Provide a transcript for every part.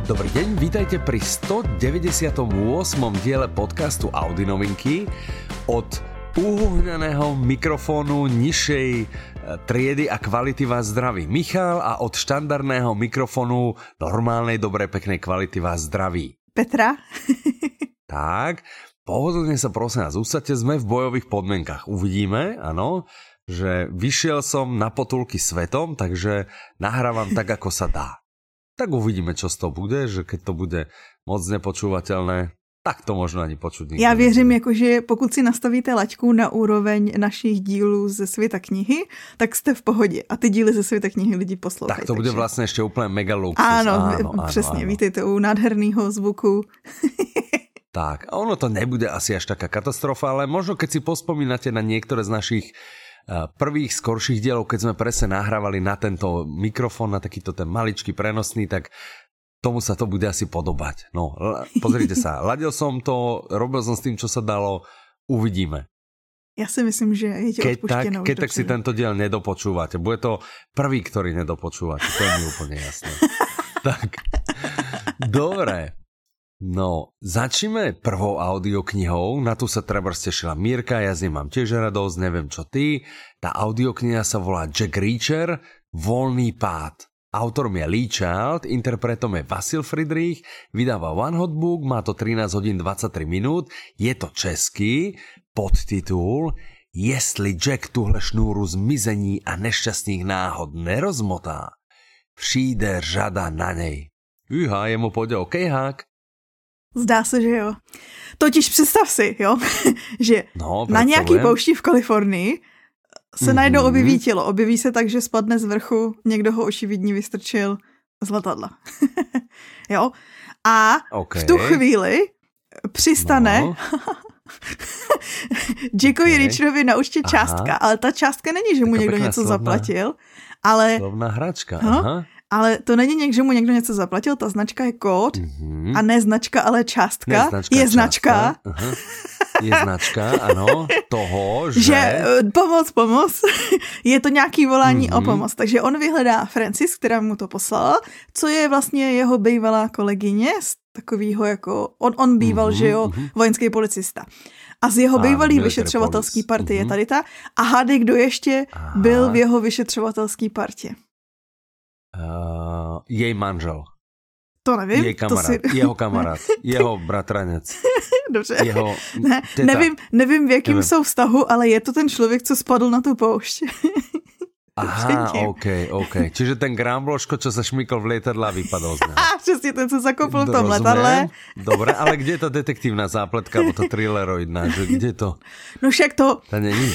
Dobrý deň, vítajte pri 198. diele podcastu Audi novinky. Od uhuhnaného mikrofónu nižšej triedy a kvality vás zdraví Michal a od štandardného mikrofónu normálnej, dobrej, peknej kvality vás zdraví Petra. Tak, pohodlne sa prosím vás usadte, sme v bojových podmienkach. Uvidíme, áno, že vyšiel som na potulky svetom, takže nahrávam tak, ako sa dá. Tak uvidíme, čo z toho bude, že keď to bude moc nepočúvateľné, tak to možno ani počuť nikdo. Já věřím, jakože pokud si nastavíte laťku na úroveň našich dílů ze světa knihy, tak jste v pohodě. A ty díly ze světa knihy lidi poslouchají. Tak to bude vlastně ještě úplně mega luxus. Áno, přesně, vítejte u nádherného zvuku. Tak, a ono to nebude asi až taká katastrofa, ale možno keď si pospomínate na niektoré z našich prvých skorších dielov, keď sme presne nahrávali na tento mikrofón, na takýto ten maličký prenosný, tak tomu sa to bude asi podobať. No, pozrite sa, ladil som to, robil som s tým, čo sa dalo, uvidíme. Ja si myslím, že je ti odpuštěno. Keď tak si tento diel nedopočúvate. Bude to prvý, ktorý nedopočúvate, to je mi úplne jasné. Tak, dobre. No, začneme prvou audioknihou, na tu sa treba stešila Mírka, ja z nej mám tiež radosť, neviem čo ty. Tá audiokniha sa volá Jack Reacher, Voľný pád. Autorom je Lee Child, interpretom je Vasil Friedrich, vydáva One Hot Book, má to 13 hodín 23 minút, je to český, podtitul Jestli Jack tuhle šnúru zmizení a nešťastných náhod nerozmotá, přijde řada na nej. Uha, jemu pôjde okejhák. Zdá se, že jo. Totiž představ si, jo, že na nějaký poušti v Kalifornii se najednou objeví tělo. Objeví se tak, že spadne z vrchu, někdo ho očividně vystrčil z letadla. Jo. A v tu chvíli přistane Jackovi Reacherovi na účtě částka, ale ta částka není, že mu někdo něco zaplatil, ale... Slovná hračka, aha. Ale to není někdo, že mu někdo něco zaplatil, ta značka je kód a ne značka, ale částka. Je značka. Je značka, ano, toho, že pomoc. Je to nějaký volání o pomoc. Takže on vyhledá Francis, která mu to poslala, co je vlastně jeho bývalá kolegyně z takového jako, on býval, že jo, vojenský policista. A z jeho bývalý vyšetřovatelský party je tady ta. A hádej, kdo ještě byl v jeho vyšetřovatelský partě. Jej manžel. To nevím. Jej kamarád, jeho kamarád, jeho bratranec. Dobře. Jeho nevím, v jakém jsou vztahu, ale je to ten člověk, co spadl na tu poušť. Aha, OK. Čiže ten Grambloško, čo sa šmykol v lietadle a vypadol z neho. Přesně ten, co zakopl v tom letadle. Dobre, ale kde je ta detektívna zápletka, alebo to thrilleroidná, že kde to? No však to... To není.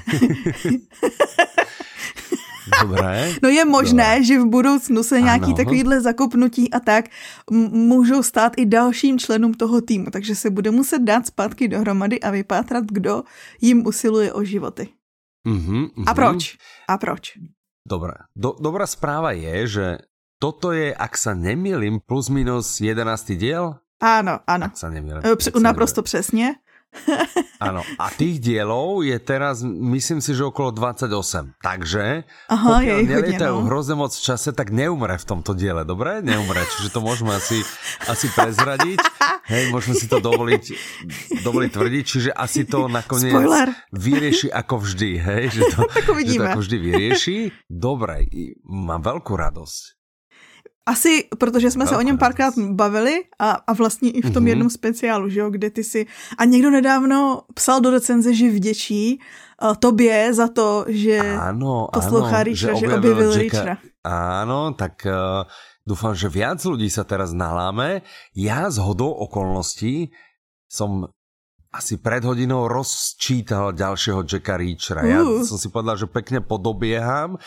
Dobré. No je možné, že v budoucnu se nějaký takovýhle zakopnutí a tak můžou stát i dalším členům toho týmu, takže se bude muset dát zpátky dohromady a vypátrat, kdo jim usiluje o životy. A proč? Dobré. Dobrá správa je, že toto je, ak sa nemýlim, plus minus 11. diel? Áno. Ak sa nemýlim. Naprosto přesně. Áno, a tých dielov je teraz, myslím si, že okolo 28. Takže pokiaľ nelietajú hrozne moc v čase, tak neumre v tomto diele, dobre? Neumre, čiže to môžeme asi prezradiť. Hej, môžeme si to dovoliť tvrdiť, čiže asi to nakoniec vyrieši ako vždy, hej? Že to ako vždy vyrieši. Dobre, mám veľkú radosť. Asi, protože jsme se o něm párkrát bavili a vlastně i v tom jednom speciálu, že jo, kde ty si... A někdo nedávno psal do recenze, že vděčí tobě za to, že poslouchá Reachera, že objevil Reachera. Áno, tak dúfam, že viac ľudí sa teraz naláme. Ja z hodou okolností som asi pred hodinou rozčítal ďalšieho Jacka Reachera. Ja som si povedal, že pekne podobieham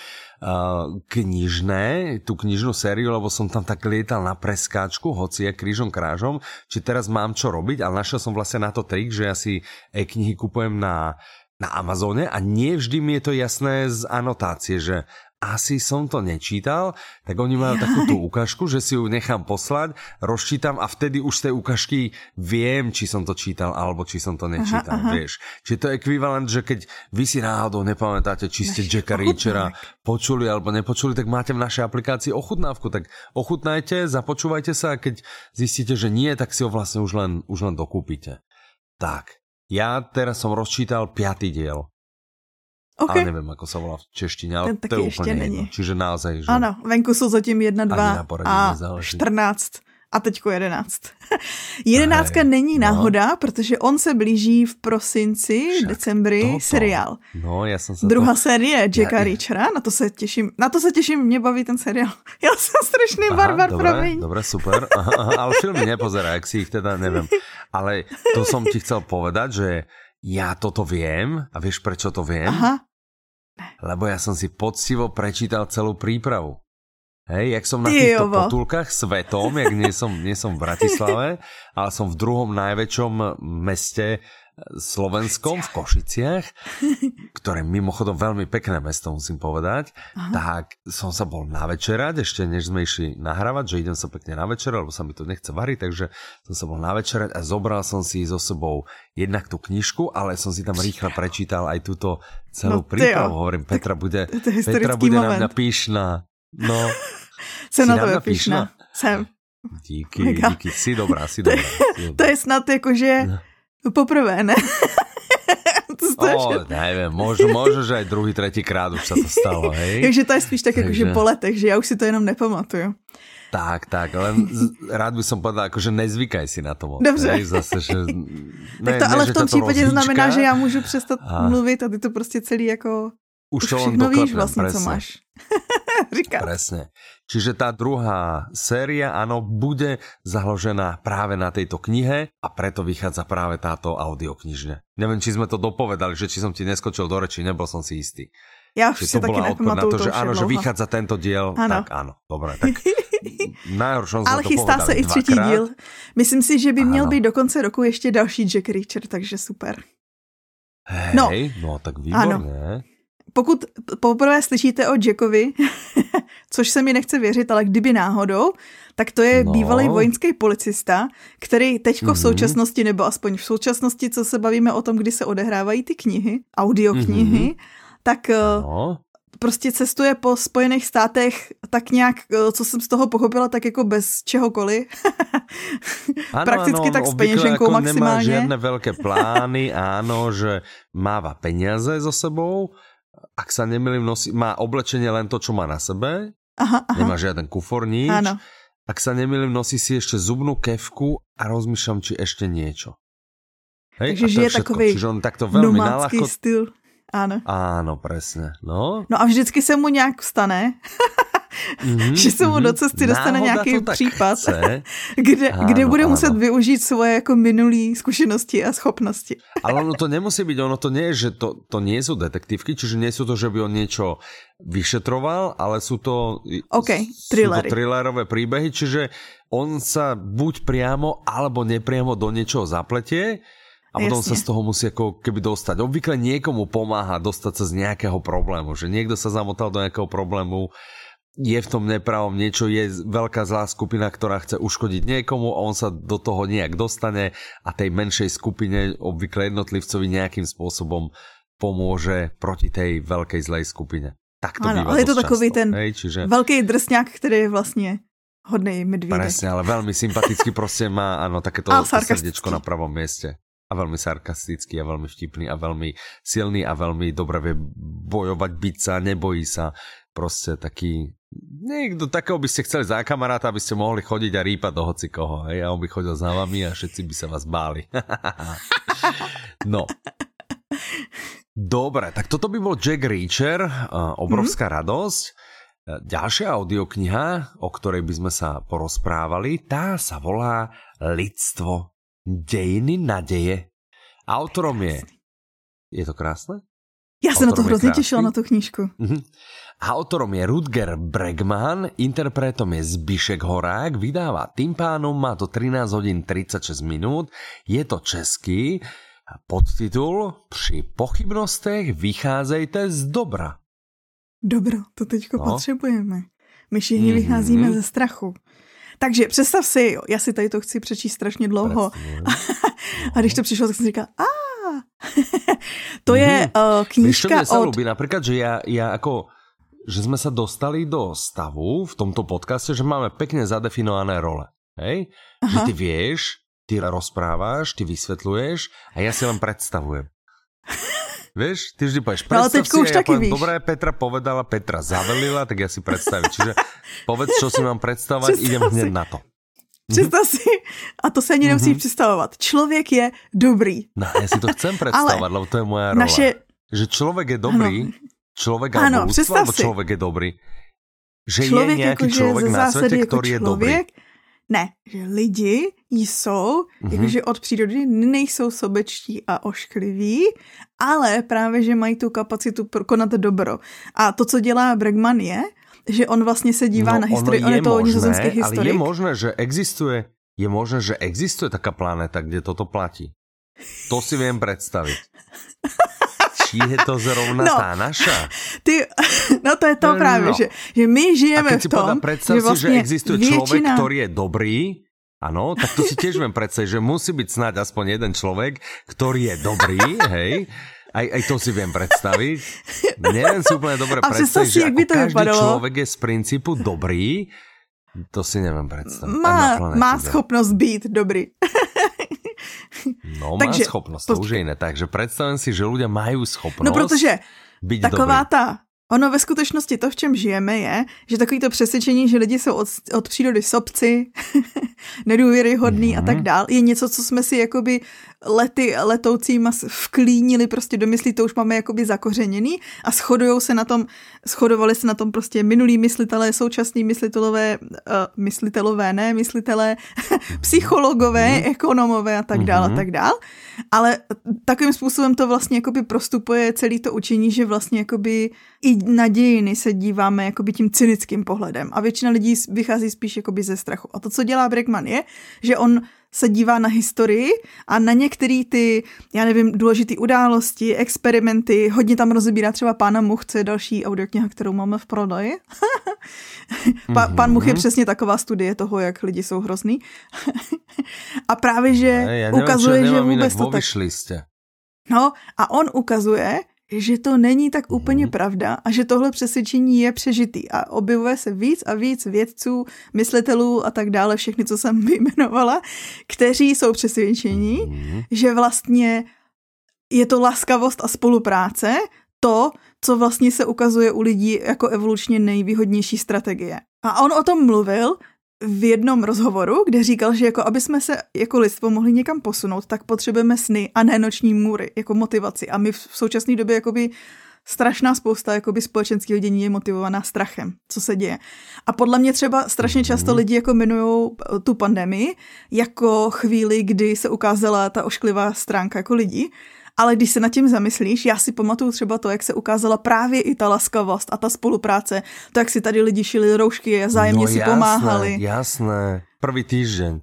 tú knižnú sériu, lebo som tam tak lietal na preskáčku, hoci je krížom krážom, či teraz mám čo robiť, ale našiel som vlastne na to trik, že ja si e-knihy kupujem na Amazone a nie vždy mi je to jasné z anotácie, že asi som to nečítal, tak oni majú takú tú ukážku, že si ju nechám poslať, rozčítam a vtedy už z tej ukážky viem, či som to čítal, alebo či som to nečítal, vieš. Čiže to je ekvivalent, že keď vy si náhodou nepamätáte, či ste Jacka Reachera počuli alebo nepočuli, tak máte v našej aplikácii ochutnávku, tak ochutnajte, započúvajte sa a keď zistíte, že nie, tak si ho vlastne už len dokúpite. Tak, ja teraz som rozčítal 5. diel. Okay. Ale neviem, ako sa volá v češtine, ale to je úplne jedno. Čiže naozaj, že... Ano, venku jsou zatím 1, 2 a 14 a teďko 11. 11 není náhoda, protože on se blíží v prosinci, decembri seriál. No, já jsem se Druhá série Jacka Reachera, na to se těším, mě baví ten seriál. Já jsem strašný barbar, promiň. Dobre, super. Aha, ale filmy nepozerá, jak si ich teda neviem. Ale to som ti chcel povedať, že ja toto viem a vieš, prečo to viem? Aha. Lebo ja som si poctivo prečítal celú prípravu. Hej, jak som na týchto potulkách svetom, jak nie som v Bratislave, ale som v druhom najväčšom meste slovenskom, v Košiciach, ktoré mimochodom veľmi pekné mesto, musím povedať. Aha. Tak som sa bol navečerať, ešte než sme išli nahrávať, že idem sa pekne navečerať, lebo sa mi to nechce variť, takže som sa bol navečerať a zobral som si so sebou jednak tú knižku, ale som si tam rýchlo prečítal aj túto celú prípravu. Hovorím, Petra bude na mňa pyšná. No, jsem na tebe pyšná. Jsem. Díky, si dobrá. To je snad jakože poprvé, ne? Neviem, možno, že aj druhý, tretí krát už sa to stalo, hej? Takže to je spíš tak akože po letech, že ja už si to jenom nepamatuju. Tak, len rád by som povedal, akože nezvykaj si na to moc. Dobře. Hej, zase, že... Tak to ale v tom případě znamená, že já můžu přestat mluvit a ty to prostě celý jako... Už všechno víš vlastně, presne. Co máš. Říkat. Presne. Čiže tá druhá séria, áno, bude založená práve na tejto knihe a preto vychádza práve táto audioknižňa. Neviem, či sme to dopovedali, že či som ti neskočil do reči, nebol som si istý. Ja už si taky nepamatuju to, že áno, že vychádza tento diel, ano. Tak áno, dobre, tak najhoršom sme ale to chystá povedali se i třetí díl. Myslím si, že by měl být do konce roku ještě další Jack Reacher, takže super. Hej, no tak výborné. Pokud poprvé slyšíte o Jackovi, což se mi nechce věřit, ale kdyby náhodou, tak to je bývalý vojenský policista, který teďko v současnosti, nebo aspoň v současnosti, co se bavíme o tom, kdy se odehrávají ty knihy, audioknihy, tak prostě cestuje po Spojených státech tak nějak, co jsem z toho pochopila, tak jako bez čehokoliv. Prakticky tak s peněženkou maximálně. Nemá žiadne veľké plány, áno, že máva peniaze so sebou. Ak sa nemýlim, má oblečenie len to, čo má na sebe. Aha. Nemá žiaden kufor, nič. Áno. Ak sa nemýlim, nosí si ešte zubnú kefku a rozmýšľam, či ešte niečo. Hej? Takže žije takový nomadský styl. Áno. Áno, presne. No a vždycky se mu nějak stane, že se mu do cesty dostane nějaký případ, kde bude muset využít svoje jako minulý zkušenosti a schopnosti. Ale ono to nemusí byť, ono to nie je, že to nie sú detektívky, čiže nie sú to, že by on niečo vyšetroval, ale sú to thrillerové príbehy, čiže on sa buď priamo alebo nepriamo do niečoho zapletie a potom sa z toho musí ako keby dostať. Obvykle niekomu pomáha dostať sa z nejakého problému, že niekto sa zamotal do nejakého problému, je v tom nepravom niečo, je veľká zlá skupina, ktorá chce uškodiť niekomu a on sa do toho nejak dostane a tej menšej skupine, obvykle jednotlivcovi nejakým spôsobom pomôže proti tej veľkej zlej skupine. Tak to býva ale je to takový často. Ten veľký drsňák, ktorý je vlastne hodnej medvídek. Presne, ale veľmi sympaticky proste má takéto srdiečko na pravom mieste. A veľmi sarkastický a veľmi vtipný a veľmi silný a veľmi dobre vie bojovať, byť sa, nebojí sa. Proste taký... Niekto takého by ste chceli za kamaráta, aby ste mohli chodiť a rýpať do hocikoho. Hej? A on by chodil za vami a všetci by sa vás báli. No. Dobre, tak toto by bol Jack Reacher. Obrovská radosť. Ďalšia audiokniha, o ktorej by sme sa porozprávali, tá sa volá Lidstvo. Dejiny nadeje. Autorom je... Je to krásne? Já se na to hrozně těšila, na tu knížku. Autorom je Rutger Bregman, interpretom je Zbišek Horák, vydává Tympánum, má to 13 hodín 36 minút, je to český, podtitul Při pochybnostech vycházejte z dobra. Dobro, to teďko potřebujeme. My všichni vycházíme ze strachu. Takže představ si, jo, já si tady to chci přečíst strašně dlouho. A když to přišlo, tak jsem říkal, to je knížka od... Mne sa ľúbi, napríklad, že ja ako, že sme sa dostali do stavu v tomto podcaste, že máme pekne zadefinované role. Hej? Že ty vieš, ty rozprávaš, ty vysvetľuješ a ja si len predstavujem. Vieš, ty vždy povieš, predstav si, a ja poviem, dobré, Petra povedala, Petra zavelila, tak ja si predstavím. Čiže povedz, čo si mám predstavovať, idem hneď na to. Představ si, a to se ani nemusíš představovat, člověk je dobrý. No, já si to chcem představovat, lebo to je moja rola. Že člověk je dobrý, člověk alebo ľudstvo, alebo člověk je dobrý. Že člověk je nějaký člověk na světě, který je dobrý. Ne, že lidi jsou, jakože od přírody nejsou sobečtí a oškliví, ale právě, že mají tu kapacitu konat dobro. A to, co dělá Bregman je, že on vlastně se dívá na historii, on je to nizozemský historik. Ale je možné, že existuje taká planéta, kde toto platí. To si viem predstaviť. Či je to zrovna tá naša? No to je to právě, že my žijeme v tom, predstav že vlastne že existuje človek, ktorý je dobrý, áno, tak to si tiež viem predstaviť, že musí byť snáď aspoň jeden človek, ktorý je dobrý, hej. Aj to si viem predstaviť. Neviem si úplne dobre predstaviť, že ako každý človek je z princípu dobrý, to si neviem predstaviť. Má schopnosť byť dobrý. No, má schopnosť, to už je iné. Takže predstavím si, že ľudia majú schopnosť no, protože byť taková dobrý. Ono ve skutečnosti to, v čem žijeme, je, že takový to přesvědčení, že lidi jsou od přírody sobci, nedůvěryhodný a tak dál, je něco, co jsme si jakoby letoucíma vklínili prostě do myslí, to už máme jakoby zakořeněný a shodovali se na tom prostě minulí myslitelé, současní myslitelé, psychologové, ekonomové a tak dál a tak dál. Ale takovým způsobem to vlastně jakoby prostupuje celý to učení, že vlastně jakoby i na dějiny se díváme jakoby tím cynickým pohledem a většina lidí vychází spíš jakoby ze strachu. A to, co dělá Bregman je, že on se dívá na historii a na některé ty, já nevím, důležité události, experimenty, hodně tam rozebírá třeba Pána Much, co je další audiokniha, kterou máme v prodeji. Pán Much je přesně taková studie toho, jak lidi jsou hrozný. A právě, že ukazuje, že vůbec to tak... No a on ukazuje, že to není tak úplně pravda a že tohle přesvědčení je přežitý a objevuje se víc a víc vědců, myslitelů a tak dále, všechny, co jsem vyjmenovala, kteří jsou přesvědčení, že vlastně je to laskavost a spolupráce, to, co vlastně se ukazuje u lidí jako evolučně nejvýhodnější strategie. A on o tom mluvil v jednom rozhovoru, kde říkal, že jako aby jsme se jako lidstvo mohli někam posunout, tak potřebujeme sny a ne noční můry jako motivaci. A my v současné době jakoby strašná spousta jakoby společenského dění je motivovaná strachem, co se děje. A podle mě třeba strašně často lidi jako minujou tu pandemii jako chvíli, kdy se ukázala ta ošklivá stránka jako lidí. Ale když se nad tím zamyslíš, já si pamatuju třeba to, jak se ukázala právě i ta laskavost a ta spolupráce, to, jak si tady lidi šili roušky a vzájemně si pomáhali. Jasné, prvý týždeň.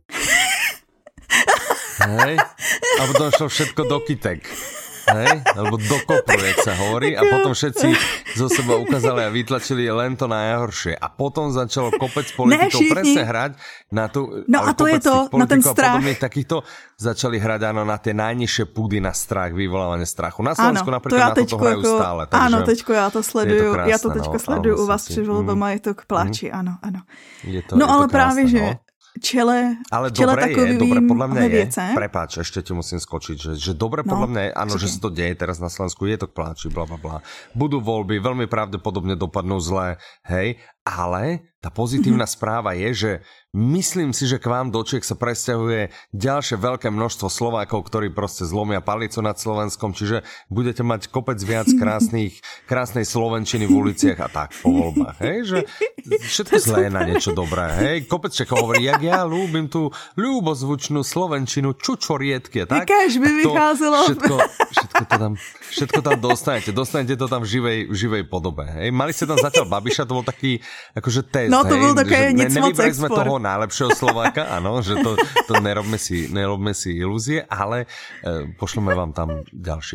Hej? A potom šlo všetko do kytek. Hej? Alebo do kopru, jak sa hovorí. A potom všetci zo seba ukázali a vytlačili len to najhoršie. A potom začalo kopec politikov presne hrať na tú... No a to je to, na ten strach. Takýchto začali hrať áno, na tie najnižšie púdy na strach, vyvolávanie strachu. Na Slovensku napríklad na to hrajú jako, stále. Takže áno, teďko ja to sleduju. Krásne, ja to teďko sleduju u vás při voľbama, je to k pláči, áno. No je ale to právě, krásne, že... Ale dobre podľa mňa je, prepáč, ešte ti musím skočiť, že dobre podľa mňa je, áno, že sa to deje teraz na Slovensku, je to k pláči, blablabla. Budú voľby, veľmi pravdepodobne dopadnú zle, hej, ale tá pozitívna správa je, že myslím si, že k vám do Čiech sa presťahuje ďalšie veľké množstvo Slovákov, ktorí proste zlomia palicu nad Slovenskom, čiže budete mať kopec viac krásnej slovenčiny v uliciach a tak po voľbách, hej, že všetko zlé je na niečo dobré, hej, kopec Čechov hovorí, jak ja ľúbim tú ľubozvučnú slovenčinu, čučoriedky, tak? Jakáž by vycházelo. Všetko tam dostanete to tam v živej podobe, hej. Mali ste tam zatiaľ Babiša, to bol taký akože test, no to bol také nic moc nevybrali sme toho najlepšieho Slováka, áno, že to nerobme si ilúzie, ale pošleme vám tam ďalších.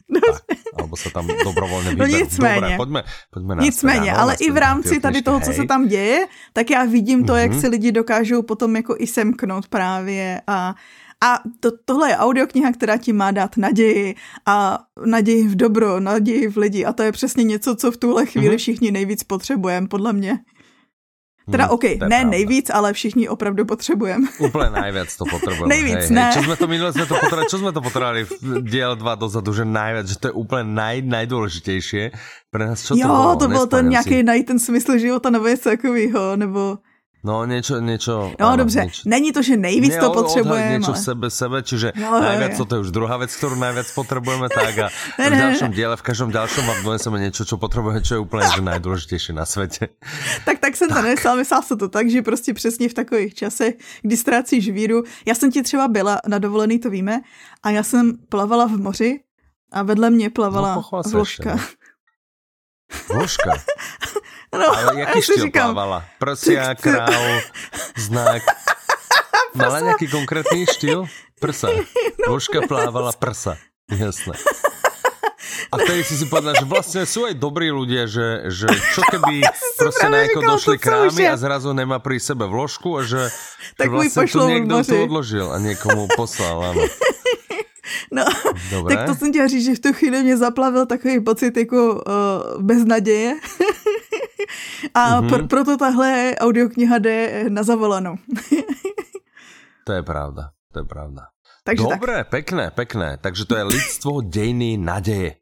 Alebo sa tam dobrovoľne vyberú. No nicméně. Dobre, poďme na Nicméně, ale i v rámci tady toho, co se tam děje, tak já vidím to, jak si lidi dokážou potom jako i semknout právě a tohle je audiokniha, která ti má dát naději a naději v dobro, naději v lidi a to je přesně něco, co v tuhle chvíli všichni nejvíc potřebujeme, podle mě. Teda ne pravda. Nejvíc, ale všichni opravdu potřebujeme. Úplne najviac to potrebujeme. Nejvíc, ne. Čo sme to potrebovali v diel 2 dozadu, že najviac, že to je úplne najdôležitejšie pre nás. Čo to bolo? To byl ten nějaký najít ten smysl života nebo něco takového, nebo... No niečo. No áno, dobře, není to, že nejvíc to potrebujeme. Niečo v sebe, čiže najviac to je už druhá vec, ktorú najviac potrebujeme, tak a v ďalšom diele, v každom ďalšom vám doneseme niečo, čo potrebujeme, čo je úplne že najdôležitejšie na svete. Tak jsem to nesla, myslela se to tak, že prostě přesně v takových časech, kdy ztrácíš víru. Já jsem ti třeba byla na dovolený, to víme, a já jsem plavala v moři a vedle mě plavala vložka. Vložka? No, ale jaký štýl plávala? Prsia, král, znak. Mala nejaký konkrétny štýl? Prsa. Vložka plávala prsa. Jasné. A vtedy si povedala, že vlastne sú aj dobrí ľudia, že čo keby proste najako došli krámy a zrazu nemá pri sebe vložku a že vlastne tu niekto to odložil a niekomu poslal, áno. No, dobre. Tak to jsem chtěla říct, že v tu chvíli mě zaplavil takový pocit jako beznaděje. A proto tahle audiokniha jde na zavolanou. To je pravda. Takže dobre, tak. Pekné. Takže to je lidstvo dejiny nadeje.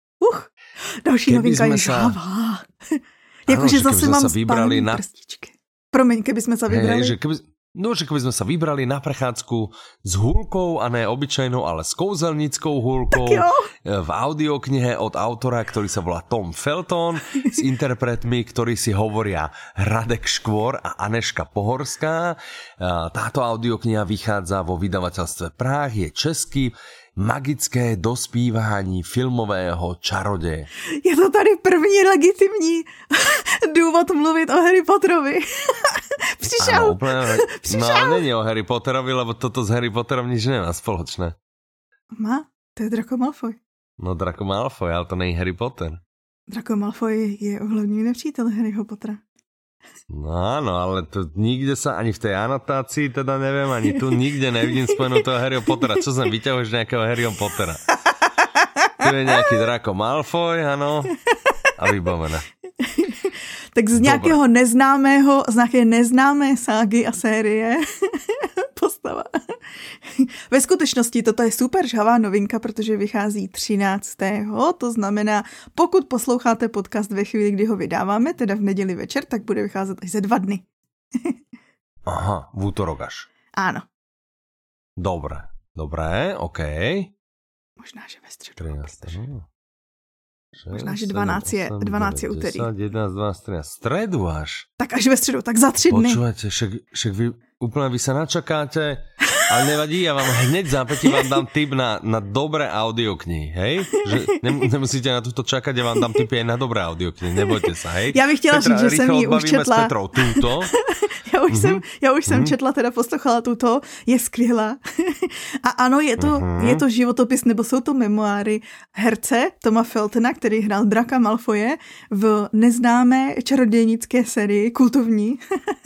Další novinka je žhavá. Jakože zase mám spálný prstičky. Promiň, keby sme sa vybrali. Že keby sme sa vybrali na prechádzku s húlkou a ne obyčajnou, ale s kouzelníckou húlkou v audioknihe od autora, ktorý sa volá Tom Felton, s interpretmi, ktorí si hovoria Radek Škvor a Anežka Pohorská. Táto audiokniha vychádza vo vydavateľstve Práh, je český. Magické dospívání filmového čaroděje. Je to tady první legitimní důvod mluvit o Harry Potterovi. Přišel. Áno, úplne, no není o Harry Potterovi, lebo toto s Harry Potterom nič nemá spoločné. Má? To je Draco Malfoy. No Draco Malfoy, ale to není Harry Potter. Draco Malfoy je hlavní nepřítel Harryho Pottera. No áno, ale to nikde sa, ani v tej anotácii, teda neviem, ani tu nikde nevidím spomenúť toho Harryho Pottera. Čo sem vyťahuješ nejakého Harryho Pottera? Tu je nejaký Draco Malfoy, áno, a vybavené. Tak z nějakého neznámého, z nějaké neznámé ságy a série postava. Ve skutečnosti toto je super žhavá novinka, protože vychází 13. To znamená, pokud posloucháte podcast ve chvíli, kdy ho vydáváme, teda v neděli večer, tak bude vycházet až za 2 dny. Aha, v útorok až. Áno. Dobré, OK. Možná, že ve středu. Možná, že 12 je úterý. 11, 12, 13. Stredu až. Tak až ve středu, tak za 3 dny. Počúvate, však vy sa načakáte, ale nevadí, ja vám hneď zápätí vám dám tip na dobré audioknihy, hej? Že nemusíte na toto čakať, ja vám dám tipy aj na dobré audioknihy, nebojte sa, hej? Já bych chtěla říct, že jsem ji už četla. S Petrou túto. Já už jsem četla, teda poslouchala tuto, je skvělá. A ano, je to životopis, nebo jsou to memoáry herce Toma Feltona, který hrál Draka Malfoje v neznámé čarodějnické sérii, kultovní.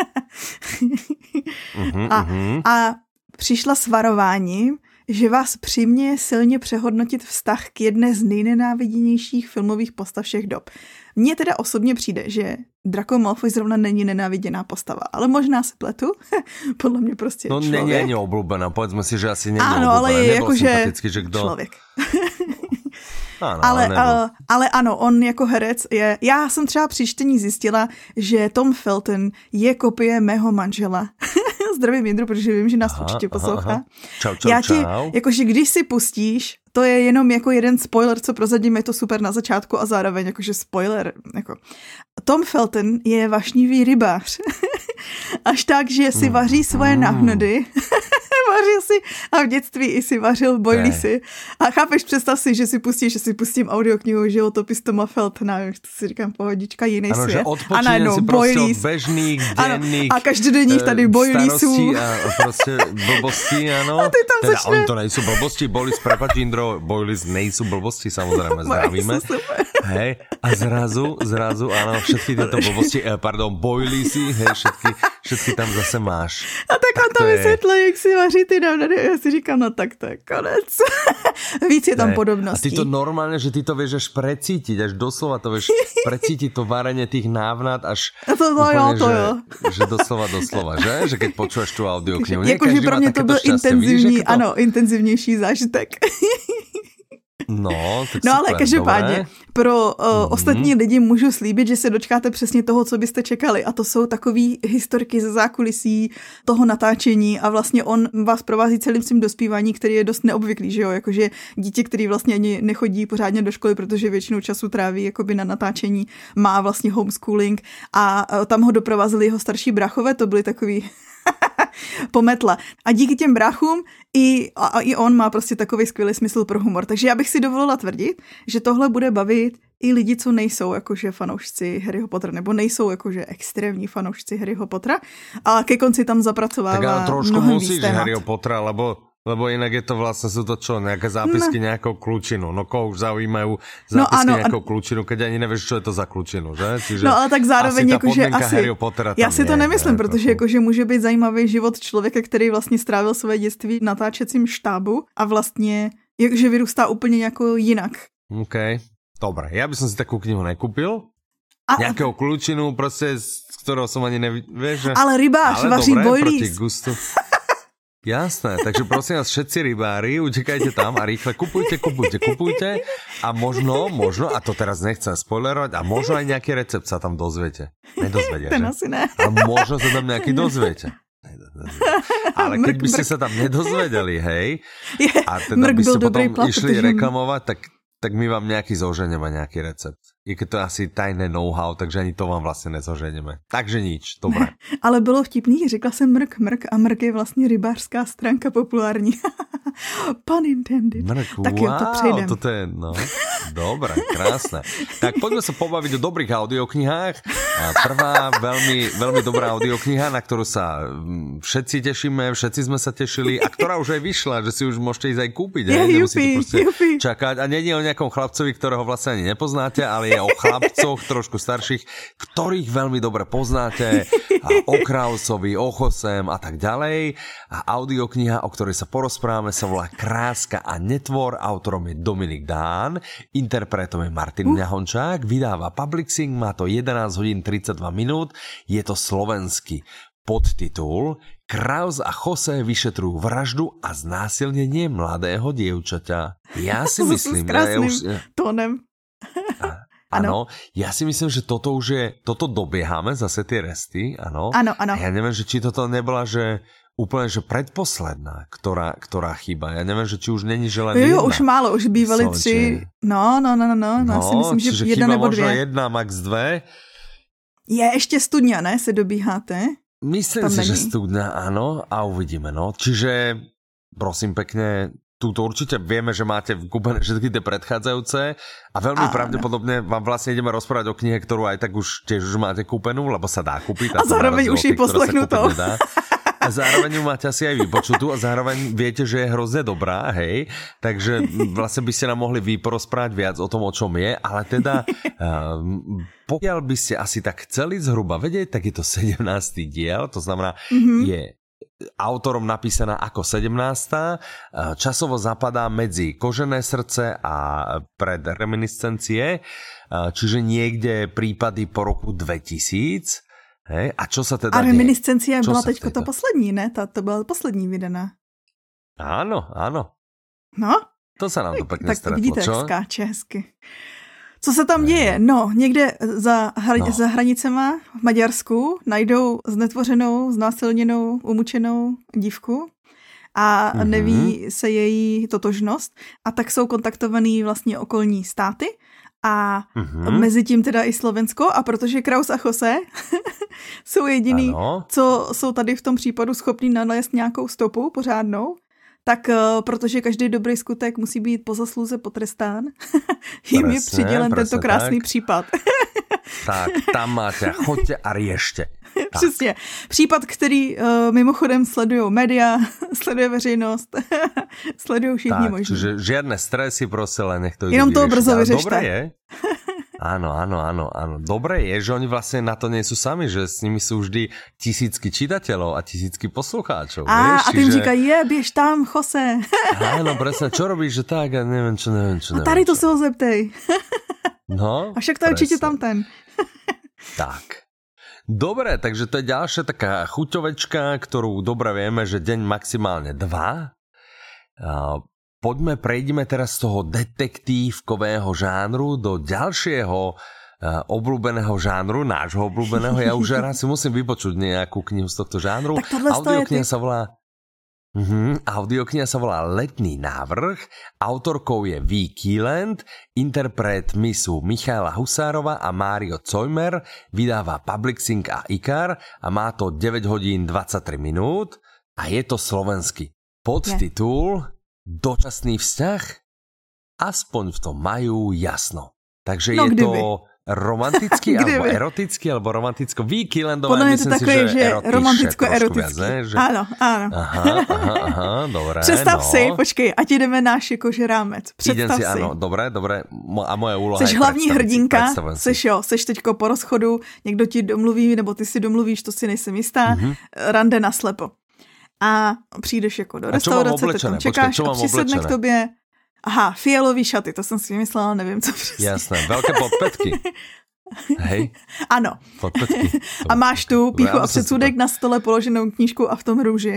A přišla s varováním, že vás přiměje silně přehodnotit vztah k jedné z nejnenáviděnějších filmových postav všech dob. Mně teda osobně přijde, že Draco Malfoy zrovna není nenáviděná postava, ale možná se pletu. Podle mě prostě no, člověk. No není obľúbená, povedzme si, že asi není obľúbená. Áno, ale je jakože člověk. Ano, ale ano, on jako herec je... Já jsem třeba při čtení zjistila, že Tom Felton je kopie mého manžela. Zdravím Jindru, protože vím, že nás určitě poslouchá. Čau. Jakože když si pustíš, to je jenom jako jeden spoiler, co prozadím, je to super na začátku a zároveň jakože spoiler. Jako. Tom Felton je vašnivý rybář. Až tak, že si vaří svoje náhnody. Vaří a v dětství i si vařil bojlisy. A chápeš, představ si, že si pustím audioknihu Životopis Toma Feltona, to si říkám, pohodička, jiný ano, svět. A najednou si prostě od bežných, denných a každodenních tady bojlisů. A prostě blbosti, ano. A ty tam teda začne... oni to nejsou blbosti, bojlis, prepáč Indro, bojlis nejsou blbosti, samozrejme, zdravíme. Hej, a zrazu, áno, všetky tieto blbosti, bojlisy, hej, všetky tam zase máš. A tak on to vysvětlil, jak si vaří ty návnady. Já si říkám, no tak to je konec. Víc je tam podobností. A ty to normálne, že ty to vieš až precítiť, až doslova to vieš precítiť to varenie tých návnad až úplne, že doslova, že? Že keď počúvaš tú audioknihu. Jakože pro mě to byl intenzivní, ano, intenzivnější zážitek. No, tak no ale každopádně, pro ostatní lidi můžu slíbit, že se dočkáte přesně toho, co byste čekali. A to jsou takový historky ze zákulisí toho natáčení a vlastně on vás provází celým svým dospívání, který je dost neobvyklý, že jo? Jakože dítě, který vlastně ani nechodí pořádně do školy, protože většinou času tráví jakoby na natáčení, má vlastně homeschooling a tam ho doprovázeli jeho starší brachové, to byly takový... pometla. A díky těm bráchům i on má prostě takový skvělý smysl pro humor. Takže já bych si dovolila tvrdit, že tohle bude bavit i lidi, co nejsou jakože fanoušci Harryho Pottera, nebo nejsou jakože extrémní fanoušci Harryho Pottera, a ke konci tam zapracovává tak ale trošku mnohem musíš víc témat. Harryho Pottera, lebo inak je to vlastne, sú to čo, nejaké zápisky nejakou kľúčinu. No koho už zaujímajú zápisky nejakou kľúčinu, keď ani nevieš, čo je to za kľúčinu, že? Čiže no ale tak zároveň jakože asi, já si to nemyslím, protože jakože může být zajímavý život člověka, který vlastně strávil své dětství v natáčecím štábu a vlastně jakože vyrůstá úplně jako jinak. OK, dobre. Ja by som si takú knihu nekúpil. Nejakého kľúčinu, proste, z ktorého som ani nevieš, že... Ale rybář vaří bojlís. Jasné, takže prosím vás, všetci rybári, utekajte tam a rýchle kupujte a možno, a to teraz nechcem spoilerovať, a možno aj nejaký recept sa tam dozviete. Nedozviete, ten asi ne. A možno sa tam nejaký dozviete. Ale keď by ste sa tam nedozvedeli, hej, a teda by ste potom išli reklamovať, tak my vám nejaký zoženeme, nejaký recept. I keď to je asi tajné know-how, takže ani to vám vlastně nezoženeme. Takže nič, dobré. Ne, ale bylo vtipný, řekla jsem mrk a mrk je vlastně rybářská stránka populární. Pun intended. Mrk, tak jo, to přejdem. Toto je, no, dobré, krásne. Tak poďme sa pobaviť o dobrých audioknihách. Prvá veľmi dobrá audiokniha, na ktorú sa všetci tešíme, všetci sme sa tešili a ktorá už aj vyšla, že si už môžete ísť aj kúpiť. Nemusíte proste čakať. A nie je o nejakom chlapcovi, ktorého vlastne ani nepoznáte, ale je o chlapcoch trošku starších, ktorých veľmi dobre poznáte, o Krausovi, o Chosem a tak ďalej. A audiokniha, o ktorej sa porozprávame, sa volá Kráska a netvor, autorom je Dominik Dán, interpretom je Martin Ňahončák, vydáva Publixing, má to 11 hodín 32 minút, je to slovenský. Podtitul Kraus a Jose vyšetrujú vraždu a znásilnenie mladého dievčaťa. Ja si myslím, tónem. Áno, ja si myslím, že toto dobiehame zase tie resty, áno. Áno. A ja neviem, že či toto nebola, že úplne, že predposledná, ktorá chýba. Ja neviem, že či už není, že len jedna. Jo, už málo, už bývali 3. No, ja si myslím, že jedna nebo 2. Možno jedna, max 2. Je ještě Studňa, ne, se dobíháte? Myslím si, že Studňa, áno, a uvidíme, no. Čiže, prosím pekne, túto určite vieme, že máte kúpené všetky tie predchádzajúce a veľmi pravdepodobne vám vlastne ideme rozprávať o knihe, ktorú aj tak už tiež už máte kúpenú, lebo sa dá kúpiť. A zároveň už ji poslechnutou. A zároveň ju máte asi aj vypočutú a zároveň viete, že je hrozne dobrá, hej. Takže vlastne by ste nám mohli vy porozprávať viac o tom, o čom je, ale teda pokiaľ by ste asi tak chceli zhruba vedieť, tak je to 17. diel, to znamená, je autorom napísaná ako 17. Časovo zapadá medzi Kožené srdce a Pred reminiscencie, čiže niekde prípady po roku 2000. Hej? A čo sa teda a reminiscencia byla teďko to poslední, ne? To byla poslední vydaná. Áno. No? To sa nám to pekne tak stretlo, vidíte, čo? Tak skáče hezky. Co se tam děje? No, někde za hranicema v Maďarsku najdou znetvořenou, znásilněnou, umučenou dívku a neví se její totožnost a tak jsou kontaktovaný vlastně okolní státy a mezi tím teda i Slovensko a protože Kraus a Jose jsou jediný, co jsou tady v tom případu schopní nalézt nějakou stopu pořádnou tak protože každý dobrý skutek musí být po zasluze potrestán, jim je přidělen tento krásný případ. Tak, tam máte, choďte a riešte. Přesně. Případ, který mimochodem sledují média, sleduje veřejnost, sledují všichni možní. Čiže žiadne stresy, proste len nech to ide jenom to brzo vyřešte. Dobre je. Áno. Dobre je, že oni vlastne na to nie sú sami, že s nimi sú vždy tisícky čitateľov a tisícky poslucháčov. A ty im říkají, běž tam, Jose. Áno, presne, čo robíš, že tak, a neviem čo. A tady to se ho zeptej. No, a však to je určite tam ten. Tak. Dobre, takže to je ďalšia taká chuťovečka, ktorú dobre vieme, že deň maximálne 2. Prejdime teraz z toho detektívkového žánru do ďalšieho obľúbeného žánru, nášho obľúbeného. Ja už raz si musím vypočuť nejakú knihu z tohto žánru. Audiokniha sa volá Letný návrh, autorkou je V. Keeland, interpretmi sú Michaela Husárova a Mário Cojmer, vydáva Publixing a IKAR a má to 9 hodín 23 minút a je to slovenský. Podtitul Dočasný vzťah? Aspoň v tom majú jasno. Takže je to romantický, alebo erotický, alebo romanticko. V. Keelandové, podľa mňa to také, že romanticko-erotický. Áno. Aha, dobré. Představ si, počkej, ať ideme náš jakože rámec. Představ si. Áno, dobré. A moje úloha seš hlavní hrdinka, seš teďko po rozchodu, někdo ti domluví, nebo ty si domluvíš, to si nejsem jistá, rande naslepo. A přijdeš jako do restaurace, ty tam čekáš a přisedne k tobě. Aha, fialový šaty, to jsem si vymyslela, nevím, co přesně. Jasné, velké podpetky. Hej. Ano. Podpetky. A máš tu píchu a předsudek na stole položenou knížku a v tom růži.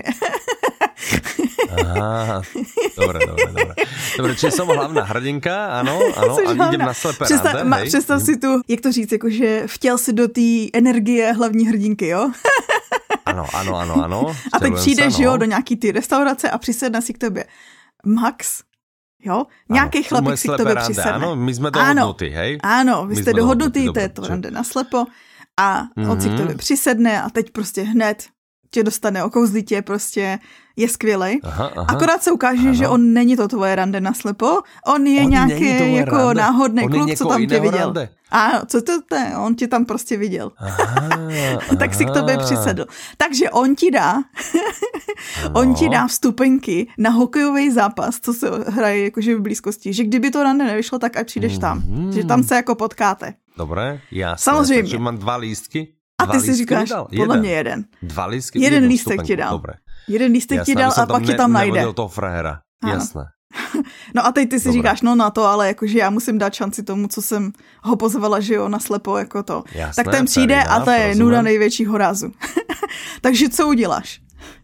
Aha, dobre. Dobre, čiže som hlavná hrdinka, áno, a idem na slepé rande. Představ si tu, jak to říct, jakože vtěl si do té energie hlavní hrdinky, jo? Ano. A teď přijdeš, jo, do nějaký ty restaurace a přisedne si k tobě Max, jo? Nějaký chlapík si k tobě přisedne. Ano, my jsme dohodnutí, hej? Ano, vy jste dohodnutí, to je to rande naslepo a on si k tobě přisedne a teď prostě hned tě dostane, okouzlí tě, prostě je skvělej. Akorát se ukáže, že on není to tvoje rande naslepo, on je nějaký jako náhodný kluk, co tam tě viděl. Rande. A co to je? On tě tam prostě viděl. Tak si k tobě přisedl. Takže on ti dá vstupenky na hokejový zápas, co se hraje jakože v blízkosti. Že kdyby to rande nevyšlo, tak ať přijdeš tam. Že tam se jako potkáte. Dobré, jasné. Samozřejmě. Takže mám 2 lístky. A ty si říkáš, podle mě jeden. 2 lístky? Jeden lístek ti dal. Dobré. Jeden lístek ti dal a pak ti tam najde. Nevodil toho frajera, jasné. No a teď ty si říkáš, no na to, ale jakože já musím dát šanci tomu, co jsem ho pozvala, že jo, naslepo jako to. Jasné, tak ten přijde a to je nuda největšího rázu. Takže co uděláš?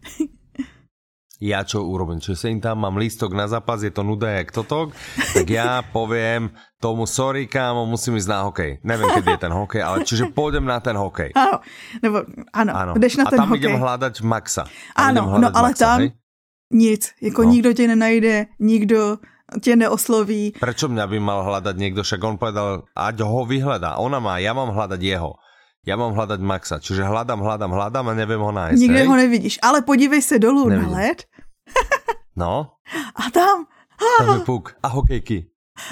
Ja čo urobím? Čiže sem tam mám lístok na zápas, je to nuda jak totok, tak ja poviem tomu, sorry kámo, musím ísť na hokej. Neviem, kedy je ten hokej, ale čiže pôjdem na ten hokej. Áno, jdeš na ten hokej. A tam idem hľadať Maxa. Áno, no ale Maxa, tam hej? Nic, jako nikdo tě nenajde, nikdo tě neosloví. Prečo mňa by mal hľadať niekto, však on povedal, ať ho vyhľadá, ja mám hľadať jeho. Ja mám hľadať Maxa, čiže hľadám a neviem ho nájsť. Nikde ho nevidíš, ale podívej se dolů na led. No. A tam je puk a hokejky.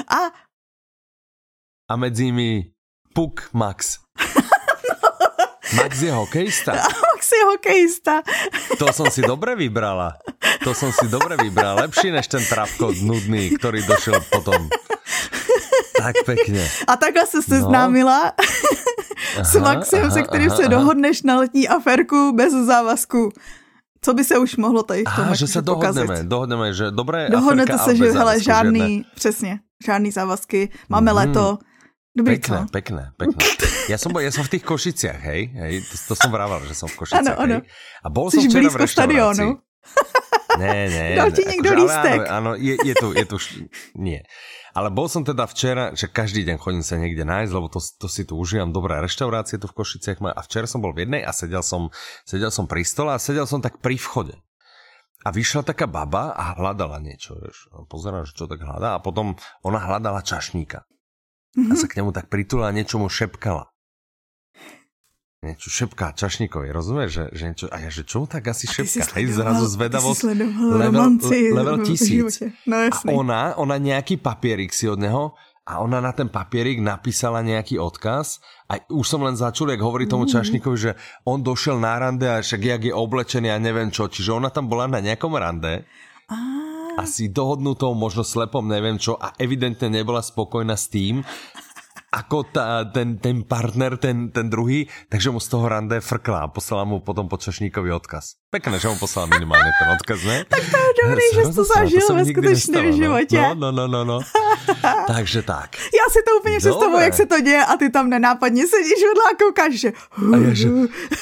A medzi nimi puk Max. Max je hokejista. Max je hokejista. To som si dobre vybrala. Lepší než ten trapko nudný, ktorý došiel potom. Tak pekne. A takhle se seznámila s Maxem, se kterým se dohodneš na letní aférku bez závazku. Co by se už mohlo tady v tom že se dohodneme, že dobré dohodnete aférka, se, že hele, žádný, přesně, žádný závazky, máme leto. Dobrý, pekné. Ja som v tých Košiciach, hej? To som vravel, že som v Košiciach, ano. A bol som včera v reštaurácii. Stadionu. Ne. Dal ti niekto lístek. Áno, je tu, nie. Ale bol som teda včera, že každý deň chodím sa niekde nájsť, lebo to si tu užívam, dobré reštaurácie tu v Košiciach. A včera som bol v jednej a sedel som pri stole a sedel som tak pri vchode. A vyšla taká baba a hľadala niečo, vieš. Pozerám, že čo tak hľadá. A potom ona hľadala čašníka. A sa k nemu tak pritula a niečo mu šepkala. niečo šepká Čašníkovi, rozumieš? Že niečo, a ja, že čo tak asi šepká? Hej, zrazu zvedavosť level 1000. No, a ona nejaký papierik si od neho a ona na ten papierik napísala nejaký odkaz a už som len začul, jak hovorí tomu Čašníkovi, že on došiel na rande a však jak je oblečený a neviem čo, čiže ona tam bola na nejakom rande. Asi dohodnutou, možno slepom, neviem čo, a evidentne nebola spokojná s tým, ako ten partner, ten druhý, takže mu z toho rande frkla a poslala mu potom Čašníkovi odkaz. Pekné, že mu poslala minimálne ten odkaz, ne? Tak to je dobrý, že jsi to zažil ve skutečném životě. No. Takže tak. Já si to úplně představuji, jak se to děje a ty tam nenápadně sedíš vedle a koukáš, že... A ja, že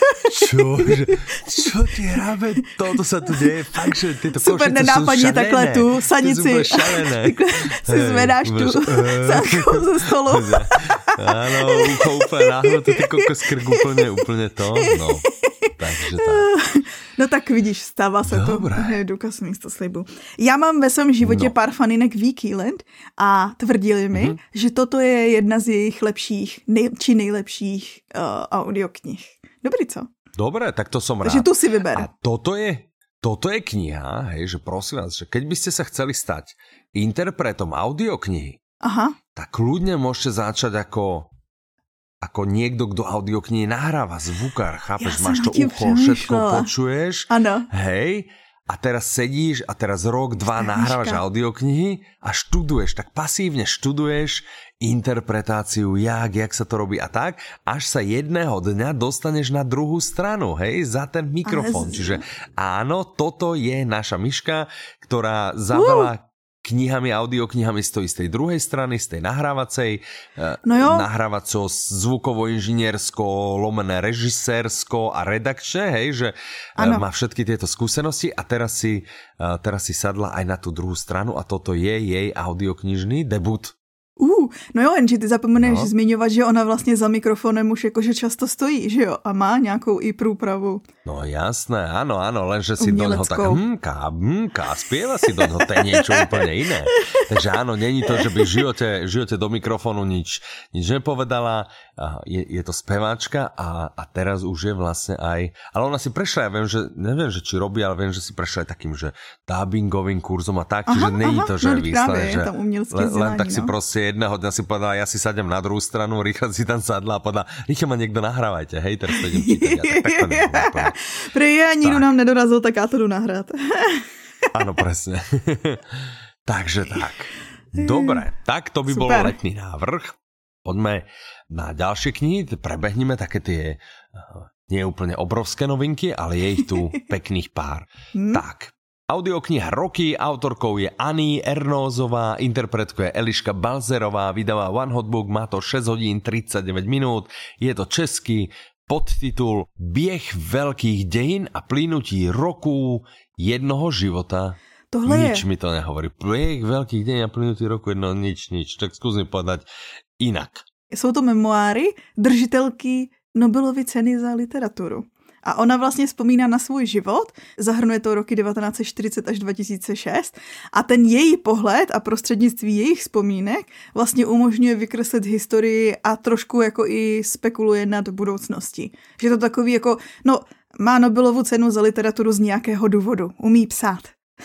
čo ti hráme? Toto sa tu deje, fakt, že tyto super nenápadně takhle tu sanici. Si zvedáš tu sánkou ze stolu. Áno, ucho úplne náhodou, ty kokos krk úplne to, no. Takže tak. No tak vidíš, stává se Dobre. to. Je důkaz místo slibu. Já mám ve svém životě pár faninek Wikiland a tvrdili mi, že toto je jedna z jejich lepších, či nejlepších audioknih. Dobrý, co? Dobre, tak to som rád. Takže tu si vyber. A toto je kniha, hej, že prosím vás, že keď by ste sa chceli stať interpretom audioknihy, tak kľudne môžete začať ako niekto, kto audioknihy nahráva, zvukár, chápeš, máš to ucho, všetko počuješ, ano. Hej, a teraz sedíš a teraz rok, 2 nahrávaš audioknihy a študuješ, tak pasívne študuješ interpretáciu, jak sa to robí a tak, až sa jedného dňa dostaneš na druhú stranu, hej, za ten mikrofón. Čiže áno, toto je naša Miška, ktorá za veľa knihami, audioknihami stojí z tej druhej strany, z tej nahrávacej, nahrávaco, zvukovo-inžiniersko, lomené režisérsko a redakčné, hej, že má všetky tieto skúsenosti a teraz si sadla aj na tú druhú stranu a toto je jej audioknižný debut. No jo, jenže ty zapomeneš zmiňovat, že ona vlastně za mikrofonem už jakože často stojí, že jo? A má nějakou i průpravu. No jasné, áno, lenže si do neho tak spieva si do neho, to je niečo úplne iné. Takže áno, není to, že by v živote do mikrofónu nič nepovedala, je to speváčka a teraz už je vlastne aj, ale ona si prešla, ja neviem, že či robí, ale viem, že si prešla aj takým, že dubbingovým kurzom a tak, čiže není to, že výsledne, že len tak si proste jedného dňa si povedala, ja si sadem na druhú stranu, rýchlo si tam sadla a povedala, rýchlo ma niekto nahrávajte, hej, teraz to idem čítať. Tak to neviem. Prej nikdo nám nedorazil, tak já to jdu nahrát. Áno, presne. Takže tak. Dobre, tak to by bol letný návrh. Poďme na ďalšie knihy, prebehneme také tie nie úplne obrovské novinky, ale je ich tu pekných pár. Tak, audiokniha Roky, autorkou je Annie Ernózová, interpretkuje Eliška Balzerová, vydáva One Hot Book, má to 6 hodín 39 minút, je to český, podtitul Běh veľkých dejín a plynutí roku jednoho života. Nič mi to nehovorí. Běh veľkých dejín a plynutí roku jednoho, nič. Tak skús mi povedať inak. Jsou to memoáry držitelky Nobelovy ceny za literaturu. A ona vlastně vzpomíná na svůj život, zahrnuje to roky 1940 až 2006 a ten její pohled a prostřednictví jejich vzpomínek vlastně umožňuje vykreslit historii a trošku jako i spekuluje nad budoucností. Že to takový jako, má Nobelovu cenu za literaturu z nějakého důvodu, umí psát.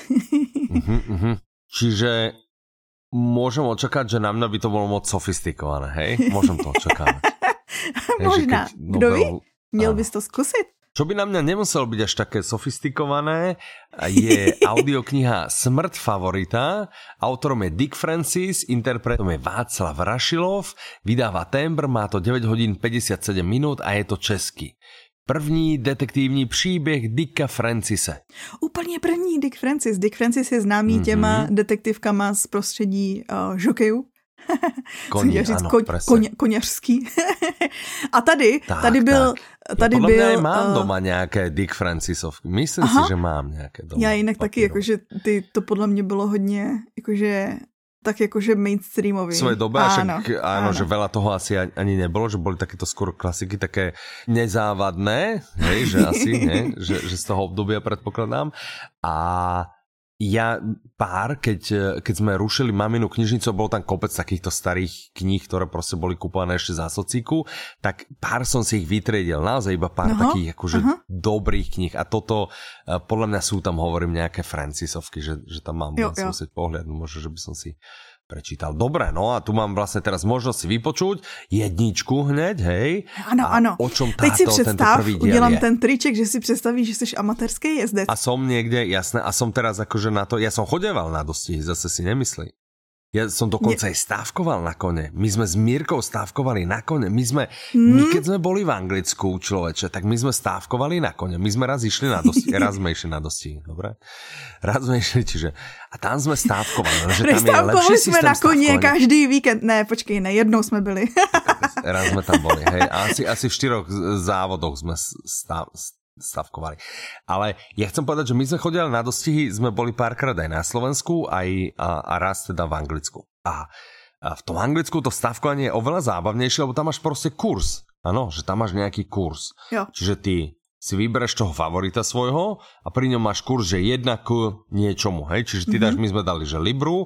Čiže môžem očakať, že na mňa by to bolo moc sofistikované, hej? Môžem to očakávať. Možná. Kdo ví? Měl bys to zkusit? Čo by na mňa nemuselo byť až také sofistikované, je audiokniha Smrt favorita. Autorom je Dick Francis, interpretom je Václav Rašilov, vydáva Tembr, má to 9 hodín 57 minút a je to český. První detektivní příběh Dicka Francise. Úplně první Dick Francis. Dick Francis je známý těma detektivkama z prostředí žokejů. Koní, ano, koněřský. A tady byl... Tady podle mě mám doma nějaké Dick Francisovky. Myslím si, že mám nějaké doma. Já jinak taky, jakože to podle mě bylo hodně, jakože tak jakože mainstreamový. V svojej dobe, áno, že veľa toho asi ani nebolo, že boli takéto skôr klasiky, také nezávadné, hej, že asi, ne, že z toho obdobia predpokladám. A keď sme rušili maminu knižnicu, bol tam kopec takýchto starých kníh, ktoré proste boli kúpované ešte za socíku, tak pár som si ich vytriedil, naozaj iba pár takých akože dobrých kníh a toto, podľa mňa sú tam, hovorím, nejaké Francisovky, že tam mám musieť pohľadnúť, možno, že by som si prečítal. Dobre, no a tu mám vlastne teraz možnosť si vypočuť jedničku hneď, hej? Ano. O čom teď si představ, udělám je? ten triček, že si představíš, že jsi amatérský jezdec. A som niekde, jasné, a som teraz akože na to, ja som chodeval na dostihy, zase si nemyslí. Ja som dokonca aj stávkoval na kone. My sme s Mírkou stávkovali na kone. My keď sme boli v Anglicku, človeče, tak my sme stávkovali na kone. My sme raz išli na dostihy, raz sme išli na dostihy, dobre? Raz sme išli, čiže... A tam sme stávkovali, že tam je lepší systém jsme na koně každý víkend. Ne, počkej, jednou jsme byli. Raz sme tam boli, hej. Asi v 4 závodoch sme stavkovali. Ale ja chcem povedať, že my sme chodili na dostihy, sme boli párkrát aj na Slovensku, a raz teda v Anglicku. A v tom Anglicku to stavkovanie je oveľa zábavnejšie, lebo tam máš proste kurz. Áno, že tam máš nejaký kurz. Jo. Čiže ty si vybereš toho favorita svojho a pri ňom máš kurz, že 1 k niečomu, hej. Čiže ty dáš, my sme dali, že Libru